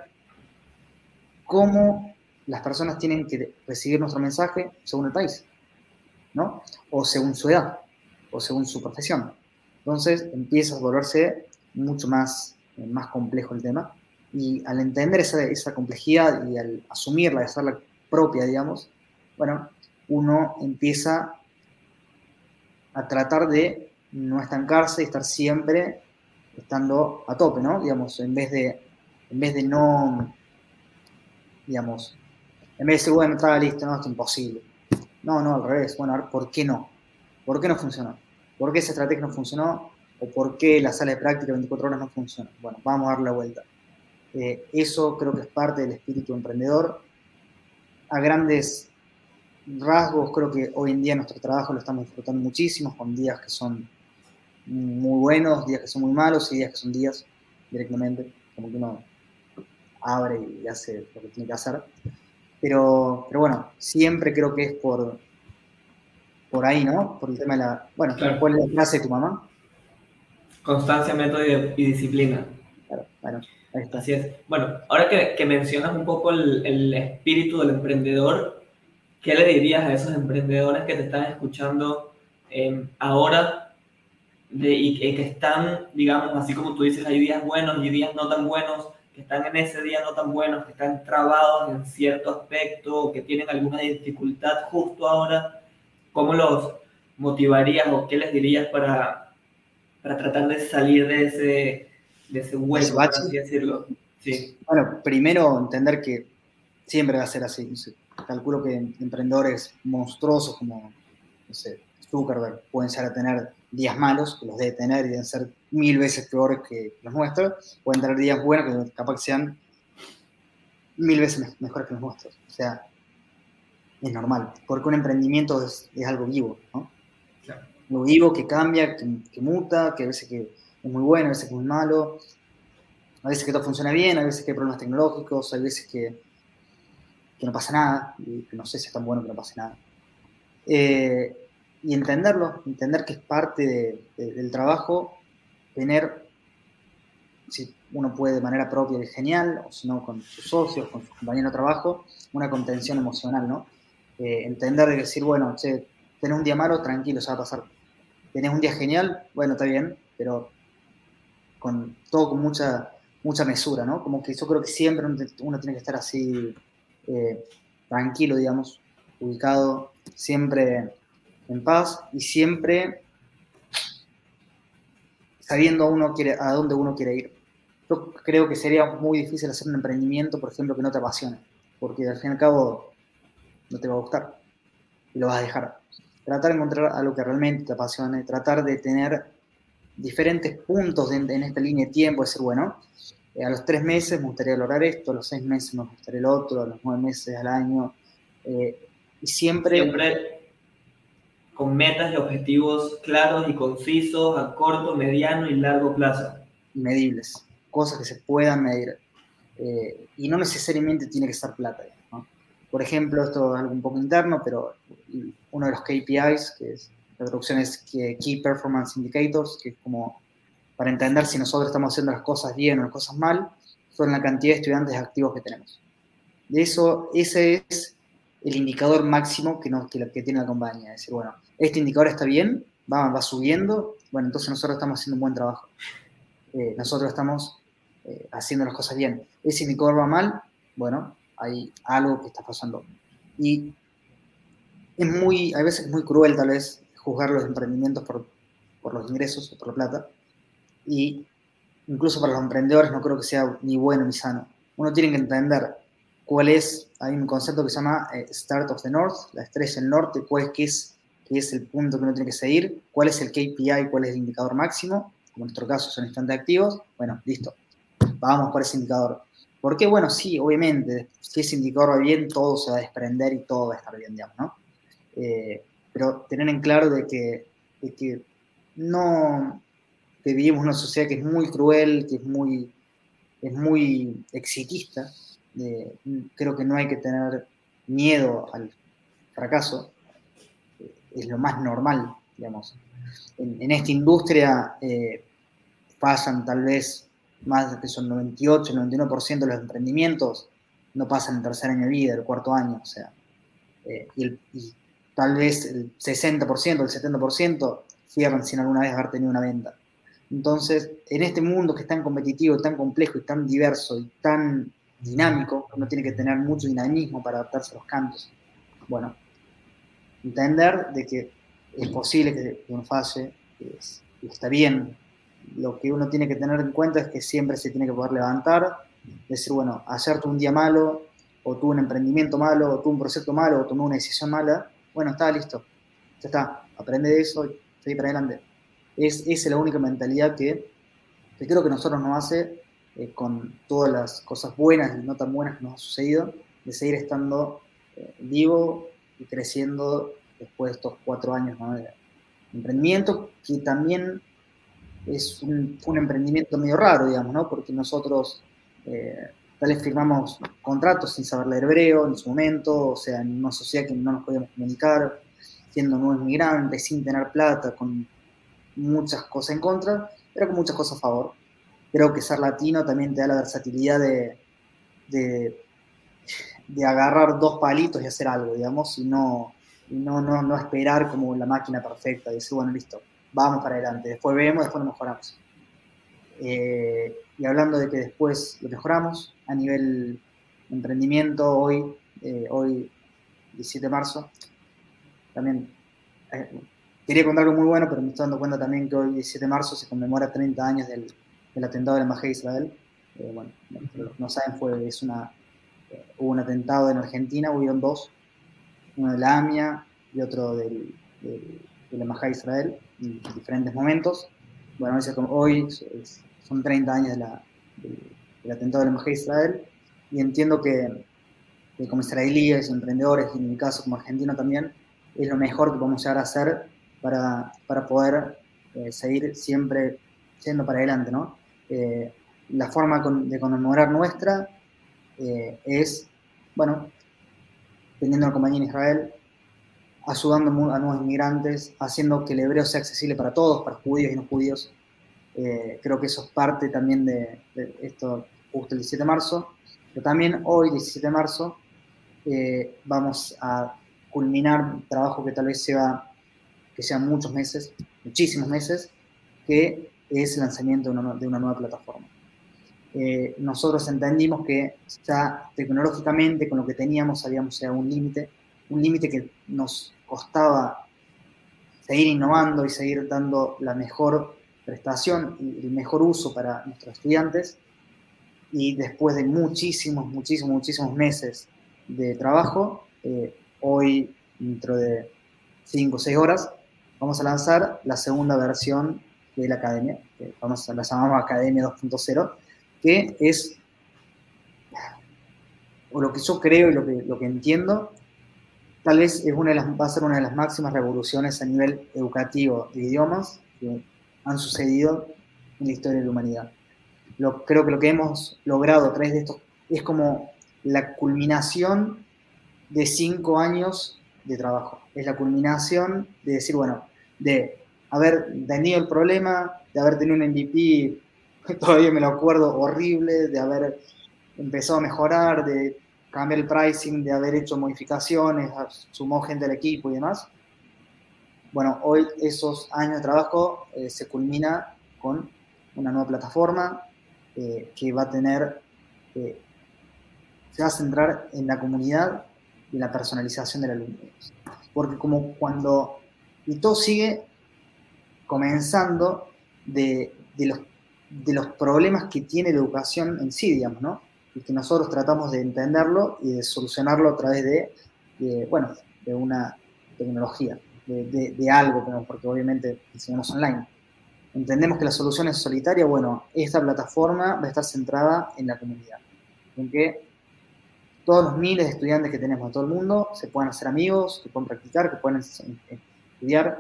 cómo las personas tienen que recibir nuestro mensaje según el país, ¿no? O según su edad, o según su profesión. Entonces empieza a volverse mucho más complejo el tema, y al entender esa complejidad y al asumirla, hacerla propia, digamos, bueno, uno empieza a tratar de no estancarse y estar siempre estando a tope, ¿no? Digamos, en vez de no, digamos, en vez de decir, bueno, estaba listo, no, es imposible. No, al revés. Bueno, a ver, ¿por qué no? ¿Por qué no funcionó? ¿Por qué esa estrategia no funcionó? ¿O por qué la sala de práctica 24 horas no funciona? Bueno, vamos a darle la vuelta. Eso creo que es parte del espíritu emprendedor. A grandes rasgos, creo que hoy en día nuestro trabajo lo estamos disfrutando muchísimo, con días que son muy buenos, días que son muy malos y días que son días directamente, como que uno abre y hace lo que tiene que hacer. Pero bueno, siempre creo que es por ahí, ¿no? Por el tema de la... Bueno, Claro. ¿cuál es la frase de tu mamá? Constancia, método y disciplina. Claro, bueno, ahí está. Así es. Bueno, ahora que mencionas un poco el espíritu del emprendedor, ¿qué le dirías a esos emprendedores que te están escuchando ahora y que están, digamos, así como tú dices, hay días buenos y días no tan buenos, que están en ese día no tan buenos, que están trabados en cierto aspecto, que tienen alguna dificultad justo ahora? ¿Cómo los motivarías o qué les dirías para tratar de salir de ese Ese hueco, por bache. así decirlo? Sí, Bueno, primero entender que siempre va a ser así. No sé, calculo que emprendedores monstruosos como, no sé, Zuckerberg pueden llegar a tener días malos, que los debe tener y deben ser 1000 veces peores que los nuestros. Pueden tener días buenos que capaz que sean 1000 veces mejores que los nuestros. O sea, es normal, porque un emprendimiento es algo vivo, ¿no? claro. Algo vivo que cambia, que muta, que a veces que es muy bueno, a veces que es muy malo, a veces que todo funciona bien, a veces que hay problemas tecnológicos, hay veces que no pasa nada, y que no sé si es tan bueno que no pase nada. Y entender que es parte del trabajo, tener, si uno puede de manera propia es genial, o si no con sus socios, con sus compañeros de trabajo, una contención emocional, ¿no? Entender de decir, bueno, che, tenés un día malo, tranquilo, se va a pasar. Tenés un día genial, bueno, está bien, pero todo con mucha mesura, ¿no? Como que yo creo que siempre uno tiene que estar así, tranquilo, digamos, ubicado, siempre en paz y siempre sabiendo a dónde uno quiere ir. Yo creo que sería muy difícil hacer un emprendimiento, por ejemplo, que no te apasione, porque al fin y al cabo no te va a gustar y lo vas a dejar. Tratar de encontrar algo que realmente te apasione, tratar de tener diferentes puntos en esta línea de tiempo, decir, bueno, a los 3 meses me gustaría lograr esto, a los 6 meses me gustaría el otro, a los 9 meses al año, y siempre Siempre con metas y objetivos claros y concisos a corto, mediano y largo plazo. medibles, cosas que se puedan medir. Y no necesariamente tiene que ser plata, ¿no? Por ejemplo, esto es algo un poco interno, pero uno de los KPIs, que es, la traducción es Key Performance Indicators, que es como para entender si nosotros estamos haciendo las cosas bien o las cosas mal, son la cantidad de estudiantes activos que tenemos. De eso, ese es el indicador máximo que tiene la compañía. Es decir, bueno, este indicador está bien, va subiendo, bueno, entonces nosotros estamos haciendo un buen trabajo. Nosotros estamos haciendo las cosas bien. Ese indicador va mal, bueno, hay algo que está pasando. Y a veces es muy cruel tal vez juzgar los emprendimientos por los ingresos o por la plata. Y incluso para los emprendedores no creo que sea ni bueno ni sano. Uno tiene que entender hay un concepto que se llama Start of the North, la estrella del norte, qué es el punto que uno tiene que seguir, cuál es el KPI, cuál es el indicador máximo, como en nuestro caso son instantes activos, bueno, listo, vamos por ese indicador. Porque, bueno, sí, obviamente, si ese indicador va bien, todo se va a desprender y todo va a estar bien, digamos, ¿no? Pero tener en claro de que no, que vivimos en una sociedad que es muy cruel, que es muy exitista. Creo que no hay que tener miedo al fracaso, es lo más normal, digamos. En esta industria pasan tal vez más de son 98, 99% de los emprendimientos no pasan el tercer año de vida, el cuarto año, o sea, y tal vez el 60%, el 70% cierran sin alguna vez haber tenido una venta. Entonces, en este mundo que es tan competitivo, tan complejo y tan diverso y tan dinámico, uno tiene que tener mucho dinamismo para adaptarse a los cambios. Bueno, entender de que es posible que uno falle, que está bien. Lo que uno tiene que tener en cuenta es que siempre se tiene que poder levantar, decir, bueno, ayer tuve un día malo, o tuve un emprendimiento malo, o tuve un proyecto malo, o tomé una decisión mala, bueno, está listo, ya está, aprende de eso y seguir para adelante. Esa es la única mentalidad que creo que nosotros nos hace, con todas las cosas buenas y no tan buenas que nos ha sucedido, de seguir estando vivo y creciendo después de estos 4 años, ¿no?, de emprendimiento, que también fue un emprendimiento medio raro, digamos, ¿no? Porque nosotros eh, tal vez firmamos contratos sin saber leer hebreo en su momento, o sea, en una sociedad que no nos podíamos comunicar, siendo nuevos migrantes, sin tener plata, con muchas cosas en contra, pero con muchas cosas a favor. Creo que ser latino también te da la versatilidad de, de agarrar dos palitos y hacer algo, digamos, y no esperar como la máquina perfecta, y decir, bueno, listo, vamos para adelante, después vemos, después lo mejoramos. Y hablando de que después lo mejoramos, a nivel emprendimiento, hoy 17 de marzo, también quería contar algo muy bueno, pero me estoy dando cuenta también que hoy 17 de marzo se conmemora 30 años del atentado de la Embajada de Israel. Bueno, para los que no saben, hubo un atentado en Argentina, hubieron dos, uno de la AMIA y otro de la Embajada de Israel, en diferentes momentos. Bueno, hoy son 30 años del atentado de la Embajada de Israel, y entiendo que como israelíes, emprendedores, y en mi caso como argentino también, es lo mejor que podemos llegar a hacer para poder seguir siempre yendo para adelante, ¿no? La forma de conmemorar nuestra es, bueno, teniendo una compañía en Israel, ayudando a nuevos inmigrantes, haciendo que el hebreo sea accesible para todos, para judíos y no judíos. Creo que eso es parte también de esto, justo el 17 de marzo, pero también hoy, 17 de marzo, vamos a culminar un trabajo que tal vez que sean muchos meses, muchísimos meses, que es el lanzamiento de una nueva plataforma. Nosotros entendimos que ya tecnológicamente con lo que teníamos habíamos llegado a un límite que nos costaba seguir innovando y seguir dando la mejor prestación y el mejor uso para nuestros estudiantes. Y después de muchísimos meses de trabajo, hoy, dentro de 5 o 6 horas, vamos a lanzar la segunda versión de la academia, que la llamamos Academia 2.0, que es, o lo que yo creo y lo que entiendo, tal vez va a ser una de las máximas revoluciones a nivel educativo de idiomas que han sucedido en la historia de la humanidad. Creo que lo que hemos logrado a través de esto es como la culminación de 5 años de trabajo. Es la culminación de decir, bueno, de haber tenido el problema, de haber tenido un MVP, todavía me lo acuerdo, horrible, de haber empezado a mejorar, de cambiar el pricing, de haber hecho modificaciones, sumó gente al equipo y demás. Bueno, hoy esos años de trabajo se culmina con una nueva plataforma que va a tener, se va a centrar en la comunidad y en la personalización del alumno. Porque y todo sigue comenzando de los problemas que tiene la educación en sí, digamos, ¿no? Y que nosotros tratamos de entenderlo y de solucionarlo a través de una tecnología, de algo, porque obviamente enseñamos online. Entendemos que la solución es solitaria. Bueno, esta plataforma va a estar centrada en la comunidad, en que todos los miles de estudiantes que tenemos en todo el mundo se puedan hacer amigos, que puedan practicar, que puedan estudiar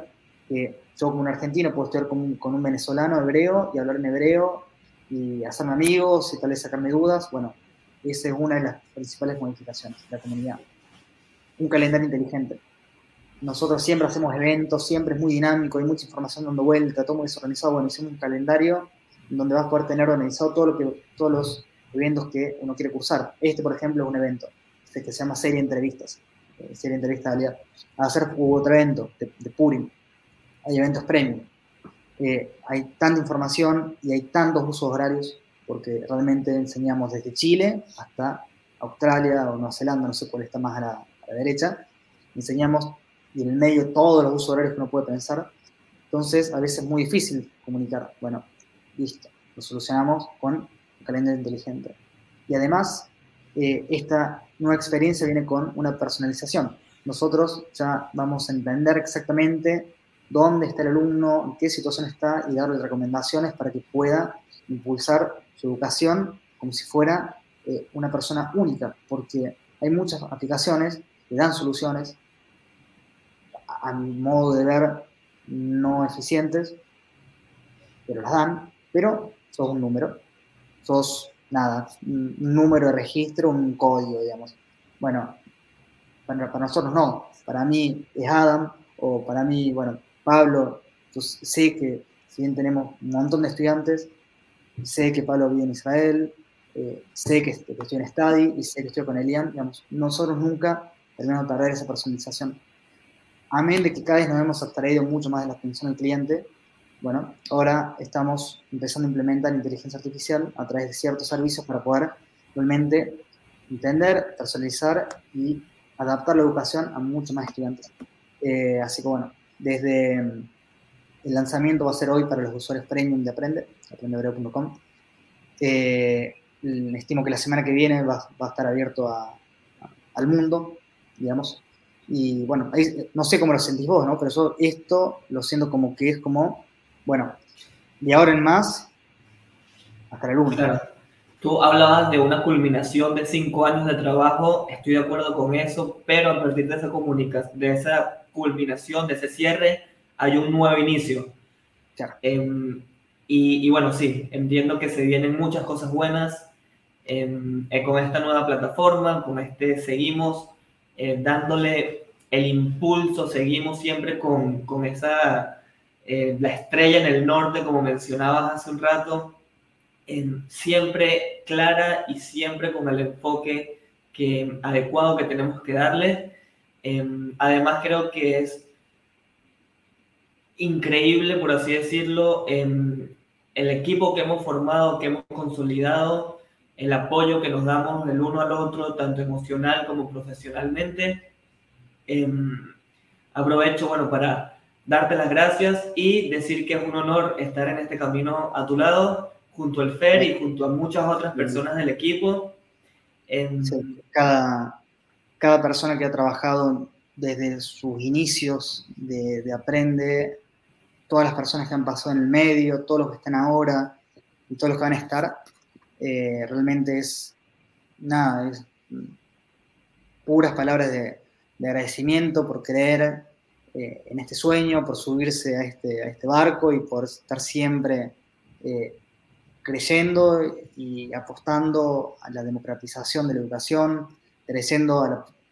que yo como un argentino puedo estudiar con un venezolano hebreo y hablar en hebreo y hacerme amigos y tal vez sacarme dudas. Bueno, esa es una de las principales modificaciones de la comunidad. Un calendario inteligente. Nosotros siempre hacemos eventos, siempre es muy dinámico, hay mucha información dando vuelta, todo muy desorganizado. Bueno, hicimos un calendario donde vas a poder tener organizado todos los eventos que uno quiere cursar. Este, por ejemplo, es un evento que se llama Serie de Entrevistas. Serie de Entrevistas de Aliado. A hacer otro evento de Purim. Hay eventos premium. Hay tanta información y hay tantos usos horarios, porque realmente enseñamos desde Chile hasta Australia o Nueva Zelanda, no sé cuál está más a la derecha. Enseñamos y en el medio todos los usos horarios que uno puede pensar. Entonces, a veces es muy difícil comunicar. Bueno, listo, lo solucionamos con un calendario inteligente. Y además, esta nueva experiencia viene con una personalización. Nosotros ya vamos a entender exactamente dónde está el alumno, en qué situación está y darle recomendaciones para que pueda impulsar su educación como si fuera una persona única, porque hay muchas aplicaciones que dan soluciones, a mi modo de ver, no eficientes, pero las dan, pero sos un número, sos nada, un número de registro, un código, digamos. Bueno, para nosotros no, para mí es Adam, o para mí, bueno, Pablo. Yo sé que si bien tenemos un montón de estudiantes, sé que Pablo vive en Israel, sé que estoy en Study y sé que estoy con Elian, digamos, nosotros nunca terminamos de perder esa personalización. Amén de que cada vez nos hemos abstraído mucho más de la atención al cliente. Bueno, ahora estamos empezando a implementar inteligencia artificial a través de ciertos servicios para poder realmente entender, personalizar y adaptar la educación a muchos más estudiantes. Así que bueno, desde el lanzamiento va a ser hoy para los usuarios premium de aprendehebreo.com. Estimo que la semana que viene va a estar abierto al mundo, digamos. Y bueno, ahí, no sé cómo lo sentís vos, ¿no? Pero yo esto lo siento como que es como, bueno, de ahora en más hasta la luna. Claro. Tú hablabas de una culminación de 5 años de trabajo, estoy de acuerdo con eso, pero a partir de esa comunicación, de esa culminación, de ese cierre, hay un nuevo inicio. Claro. Y bueno, sí, entiendo que se vienen muchas cosas buenas con esta nueva plataforma, con seguimos dándole el impulso, seguimos siempre con esa, la estrella en el norte, como mencionabas hace un rato, siempre clara y siempre con el enfoque adecuado que tenemos que darle. Además, creo que es increíble, por así decirlo, el equipo que hemos formado, que hemos consolidado, el apoyo que nos damos el uno al otro, tanto emocional como profesionalmente. Aprovecho, bueno, para darte las gracias y decir que es un honor estar en este camino a tu lado, junto al Fer y junto a muchas otras personas del equipo. Sí, cada persona que ha trabajado desde sus inicios de Aprende, todas las personas que han pasado en el medio, todos los que están ahora y todos los que van a estar, realmente es nada, es puras palabras de agradecimiento por creer en este sueño, por subirse a este barco y por estar siempre creyendo y apostando a la democratización de la educación, creyendo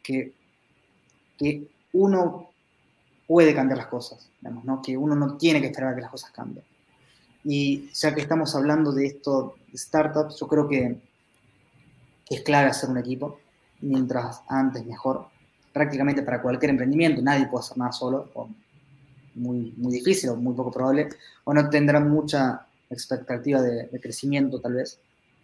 que uno puede cambiar las cosas, digamos, ¿no? Que uno no tiene que esperar a que las cosas cambien. Y ya que estamos hablando de esto, de startups, yo creo que es clave hacer un equipo, mientras antes mejor, prácticamente para cualquier emprendimiento, nadie puede hacer nada solo, o muy, muy difícil o muy poco probable, o no tendrá mucha expectativa de crecimiento tal vez.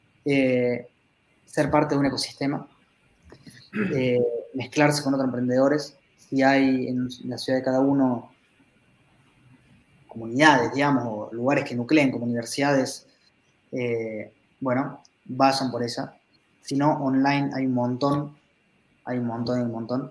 Ser parte de un ecosistema, eh, mezclarse con otros emprendedores, si hay en la ciudad de cada uno comunidades, digamos, o lugares que nucleen como universidades, bueno, vayan por ella. Si no, online hay un montón, hay un montón, hay un montón.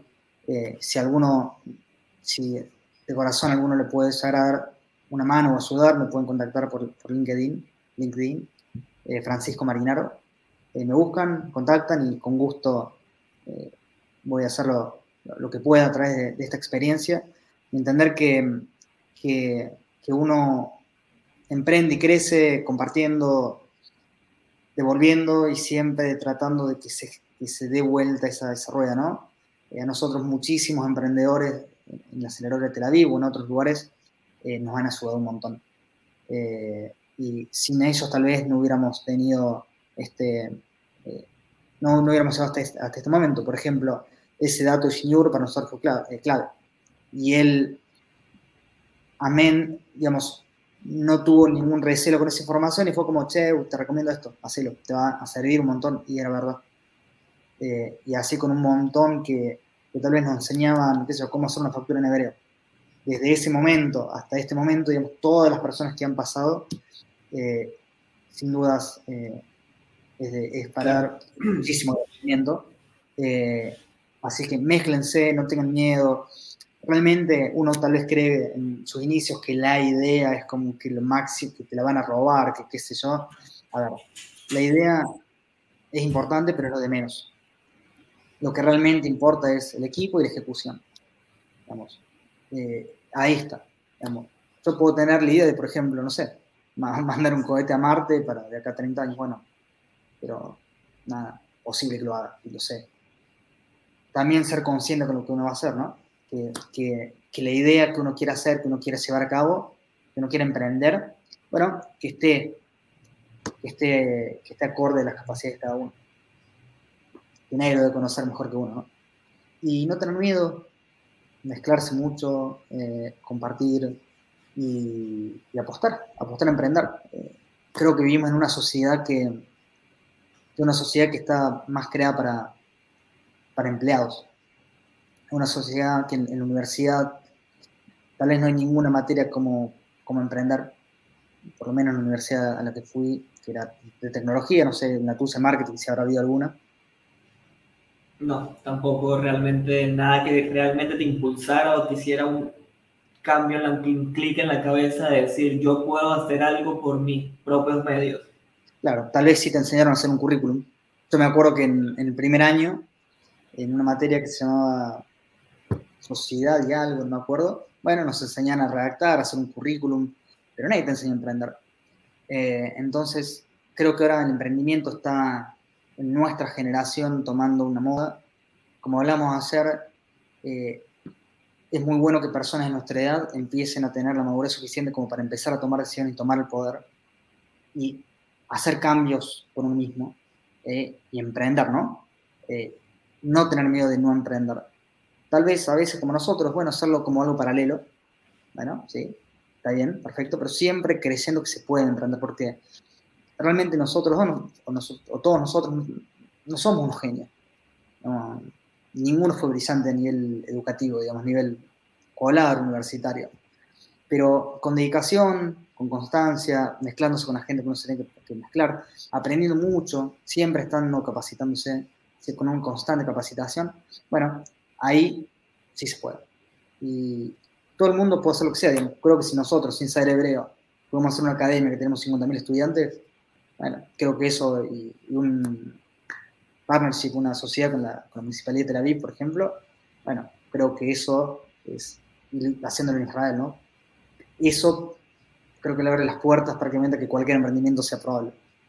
Si de corazón alguno le puede llegar a dar una mano o ayudar, me pueden contactar por LinkedIn, Francisco Marinaro. Me buscan, contactan y con gusto voy a hacer lo que pueda a través de esta experiencia y entender que que uno emprende y crece compartiendo, devolviendo y siempre tratando de que se dé vuelta esa rueda, ¿no? A nosotros muchísimos emprendedores en la aceleradora de Tel Aviv o en otros lugares nos han ayudado un montón. Y sin ellos tal vez no hubiéramos tenido no hubiéramos llegado hasta este momento. Por ejemplo, ese dato de Shinyur para nosotros fue clave. Y él, amén, digamos, no tuvo ningún recelo con esa información y fue como, che, te recomiendo esto, hacelo, te va a servir un montón, y era verdad. Y así con un montón que tal vez nos enseñaban, qué sé yo, cómo hacer una factura en hebreo. Desde ese momento hasta este momento, digamos, todas las personas que han pasado, sin dudas, es para dar muchísimo agradecimiento. Así que mézclense, no tengan miedo. Realmente uno tal vez cree en sus inicios que la idea es como que lo máximo, que te la van a robar, que qué sé yo. A ver, la idea es importante, pero es lo de menos. Lo que realmente importa es el equipo y la ejecución. Digamos. Ahí está. Digamos. Yo puedo tener la idea de, por ejemplo, no sé, mandar un cohete a Marte para de acá a 30 años, bueno, pero nada, posible que lo haga, y lo sé. También ser consciente con lo que uno va a hacer, ¿no? Que la idea que uno quiere hacer, que uno quiere llevar a cabo, que uno quiere emprender, bueno, que esté acorde a las capacidades de cada uno. Que nadie lo debe conocer mejor que uno, ¿no? Y no tener miedo, mezclarse mucho, compartir y apostar a emprender. Creo que vivimos en una sociedad que está más creada para empleados. Una sociedad que en la universidad tal vez no hay ninguna materia como emprender, por lo menos en la universidad a la que fui, que era de tecnología, no sé, en la TUSE Marketing, si habrá habido alguna. No, tampoco realmente nada que realmente te impulsara o te hiciera un cambio, un clic en la cabeza de decir yo puedo hacer algo por mis propios medios. Claro, tal vez sí te enseñaron a hacer un currículum. Yo me acuerdo que en el primer año, en una materia que se llamaba sociedad y algo, no me acuerdo, bueno, nos enseñan a redactar, a hacer un currículum, pero nadie te enseña a emprender. Entonces, creo que ahora el emprendimiento está en nuestra generación tomando una moda. Como hablamos de hacer, es muy bueno que personas de nuestra edad empiecen a tener la madurez suficiente como para empezar a tomar decisiones y tomar el poder y hacer cambios por uno mismo y emprender, ¿no? No tener miedo de no emprender. Tal vez a veces como nosotros, bueno, hacerlo como algo paralelo, bueno, sí, está bien, perfecto, pero siempre creyendo que se puede emprender, porque realmente nosotros, o todos nosotros, no somos unos genios. No, ninguno fue brillante a nivel educativo, digamos, a nivel escolar, universitario. Pero con dedicación, con constancia, mezclándose con la gente que uno se tiene que mezclar, aprendiendo mucho, siempre estando capacitándose, con una constante capacitación, bueno, ahí sí se puede. Y todo el mundo puede hacer lo que sea. Digamos. Creo que si nosotros, sin saber hebreo, podemos hacer una academia que tenemos 50.000 estudiantes, bueno, creo que eso y un partnership, una sociedad con la Municipalidad de Tel Aviv, por ejemplo, bueno, creo que eso es haciéndolo en Israel, ¿no? Eso creo que le abre las puertas prácticamente a que cualquier emprendimiento sea probable.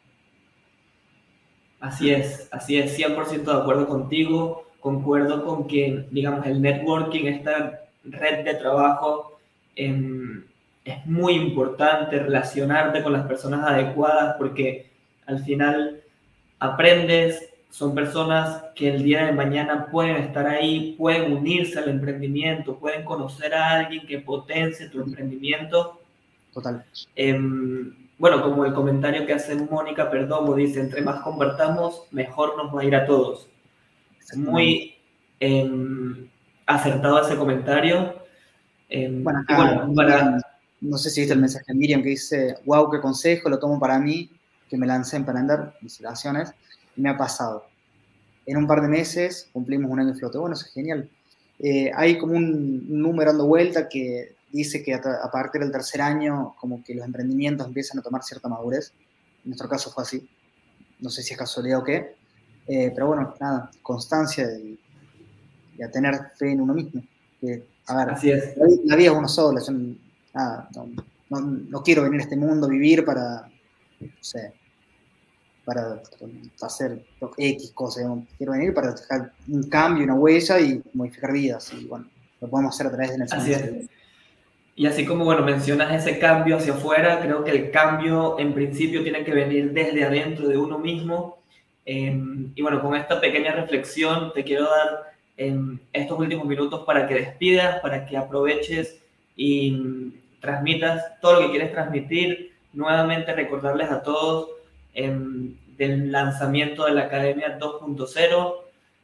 Así es, 100% de acuerdo contigo. Concuerdo con que, digamos, el networking, esta red de trabajo, es muy importante relacionarte con las personas adecuadas porque al final aprendes, son personas que el día de mañana pueden estar ahí, pueden unirse al emprendimiento, pueden conocer a alguien que potencie tu emprendimiento. Total. Bueno, como el comentario que hace Mónica Perdomo, dice, entre más convertamos, mejor nos va a ir a todos. Muy acertado ese comentario. Bueno, y acá, bueno, Miriam, no sé si viste el mensaje de Miriam que dice, wow, qué consejo, lo tomo para mí, que me lancé a emprender, felicitaciones, y me ha pasado. En un par de meses cumplimos un año de flote. Bueno, eso es genial. Hay como un número dando vuelta que dice que a partir del tercer año como que los emprendimientos empiezan a tomar cierta madurez. En nuestro caso fue así. No sé si es casualidad o qué. Pero bueno, nada, constancia y a tener fe en uno mismo. A ver, así es. la vida es uno solo. no quiero venir a este mundo, vivir para, no sé, para hacer X cosas, digamos. Quiero venir para dejar un cambio, una huella y modificar vidas, y bueno, lo podemos hacer a través de la Así enseñanza. es. Y así como, bueno, mencionas ese cambio hacia afuera, creo que el cambio en principio tiene que venir desde adentro de uno mismo. Y bueno, con esta pequeña reflexión te quiero dar estos últimos minutos para que despidas, para que aproveches y transmitas todo lo que quieres transmitir. Nuevamente recordarles a todos del lanzamiento de la Academia 2.0.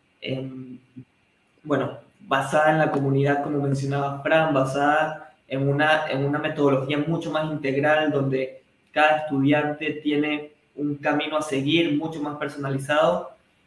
Bueno, basada en la comunidad, como mencionaba Fran, basada en una metodología mucho más integral, donde cada estudiante tiene un camino a seguir mucho más personalizado.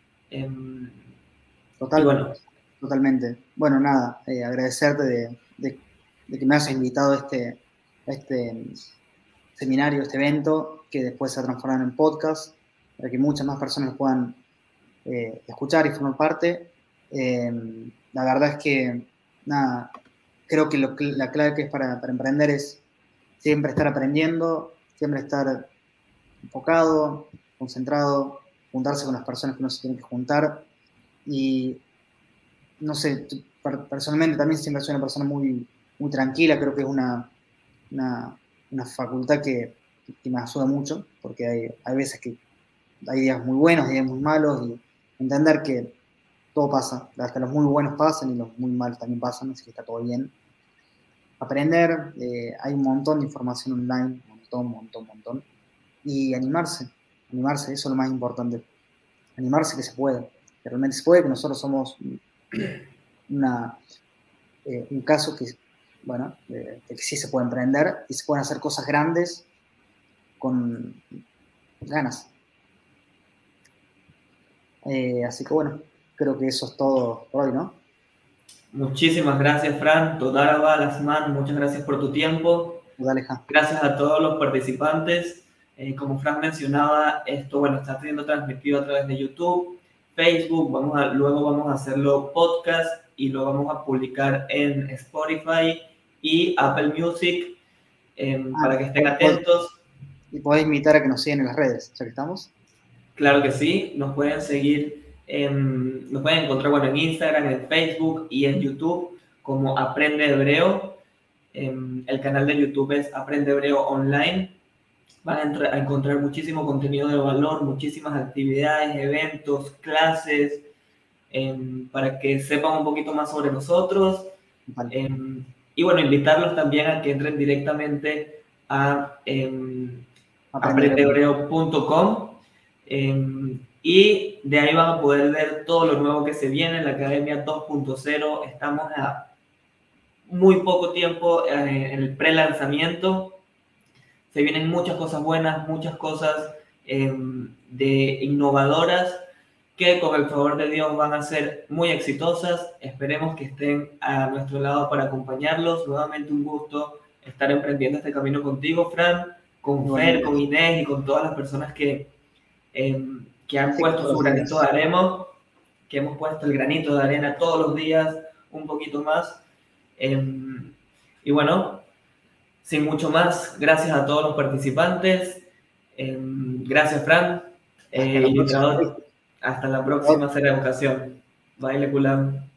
Y bueno, Totalmente. Bueno, nada, agradecerte de que me hayas invitado a este seminario, este evento, que después se ha transformado en podcast, para que muchas más personas puedan escuchar y formar parte. La verdad es que, nada, creo que la clave que es para emprender es siempre estar aprendiendo, siempre estar enfocado, concentrado, juntarse con las personas que uno se tiene que juntar. Y no sé, personalmente también siempre soy una persona muy, muy tranquila, creo que es una facultad que me ayuda mucho, porque hay veces que hay días muy buenos, días muy malos, y entender que todo pasa, hasta los muy buenos pasan y los muy malos también pasan, así que está todo bien. Aprender, hay un montón de información online, un montón, y animarse, eso es lo más importante, animarse que se puede, que realmente se puede, que nosotros somos un caso que, bueno, de que sí se puede emprender y se pueden hacer cosas grandes con ganas. Así que bueno, creo que eso es todo por hoy, ¿no? muchísimas gracias, Fran. Toda Lasman, muchas gracias por tu tiempo. Dale, ja. Gracias a todos los participantes. Como Fran mencionaba, esto bueno, está siendo transmitido a través de YouTube, Facebook, luego vamos a hacerlo podcast y lo vamos a publicar en Spotify y Apple Music para que estén atentos. Y podés invitar a que nos sigan en las redes, ya que estamos. Claro que sí, nos pueden seguir, nos pueden encontrar bueno, en Instagram, en Facebook y en YouTube como Aprende Hebreo. El canal de YouTube es Aprende Hebreo Online. Van a encontrar muchísimo contenido de valor, muchísimas actividades, eventos, clases, para que sepan un poquito más sobre nosotros. Vale. Y bueno, invitarlos también a que entren directamente a aprendehebreo.com y de ahí van a poder ver todo lo nuevo que se viene en la Academia 2.0. Estamos a muy poco tiempo en el pre-lanzamiento. Se vienen muchas cosas buenas, muchas cosas de innovadoras que con el favor de Dios van a ser muy exitosas. Esperemos que estén a nuestro lado para acompañarlos. Nuevamente un gusto estar emprendiendo este camino contigo, Fran, con Fer, con Inés y con todas las personas que han puesto su granito de arena, que hemos puesto el granito de arena todos los días, un poquito más. Y bueno, sin mucho más, gracias a todos los participantes. Gracias, Fran. Hasta la próxima, será educación. Bye, Leculam.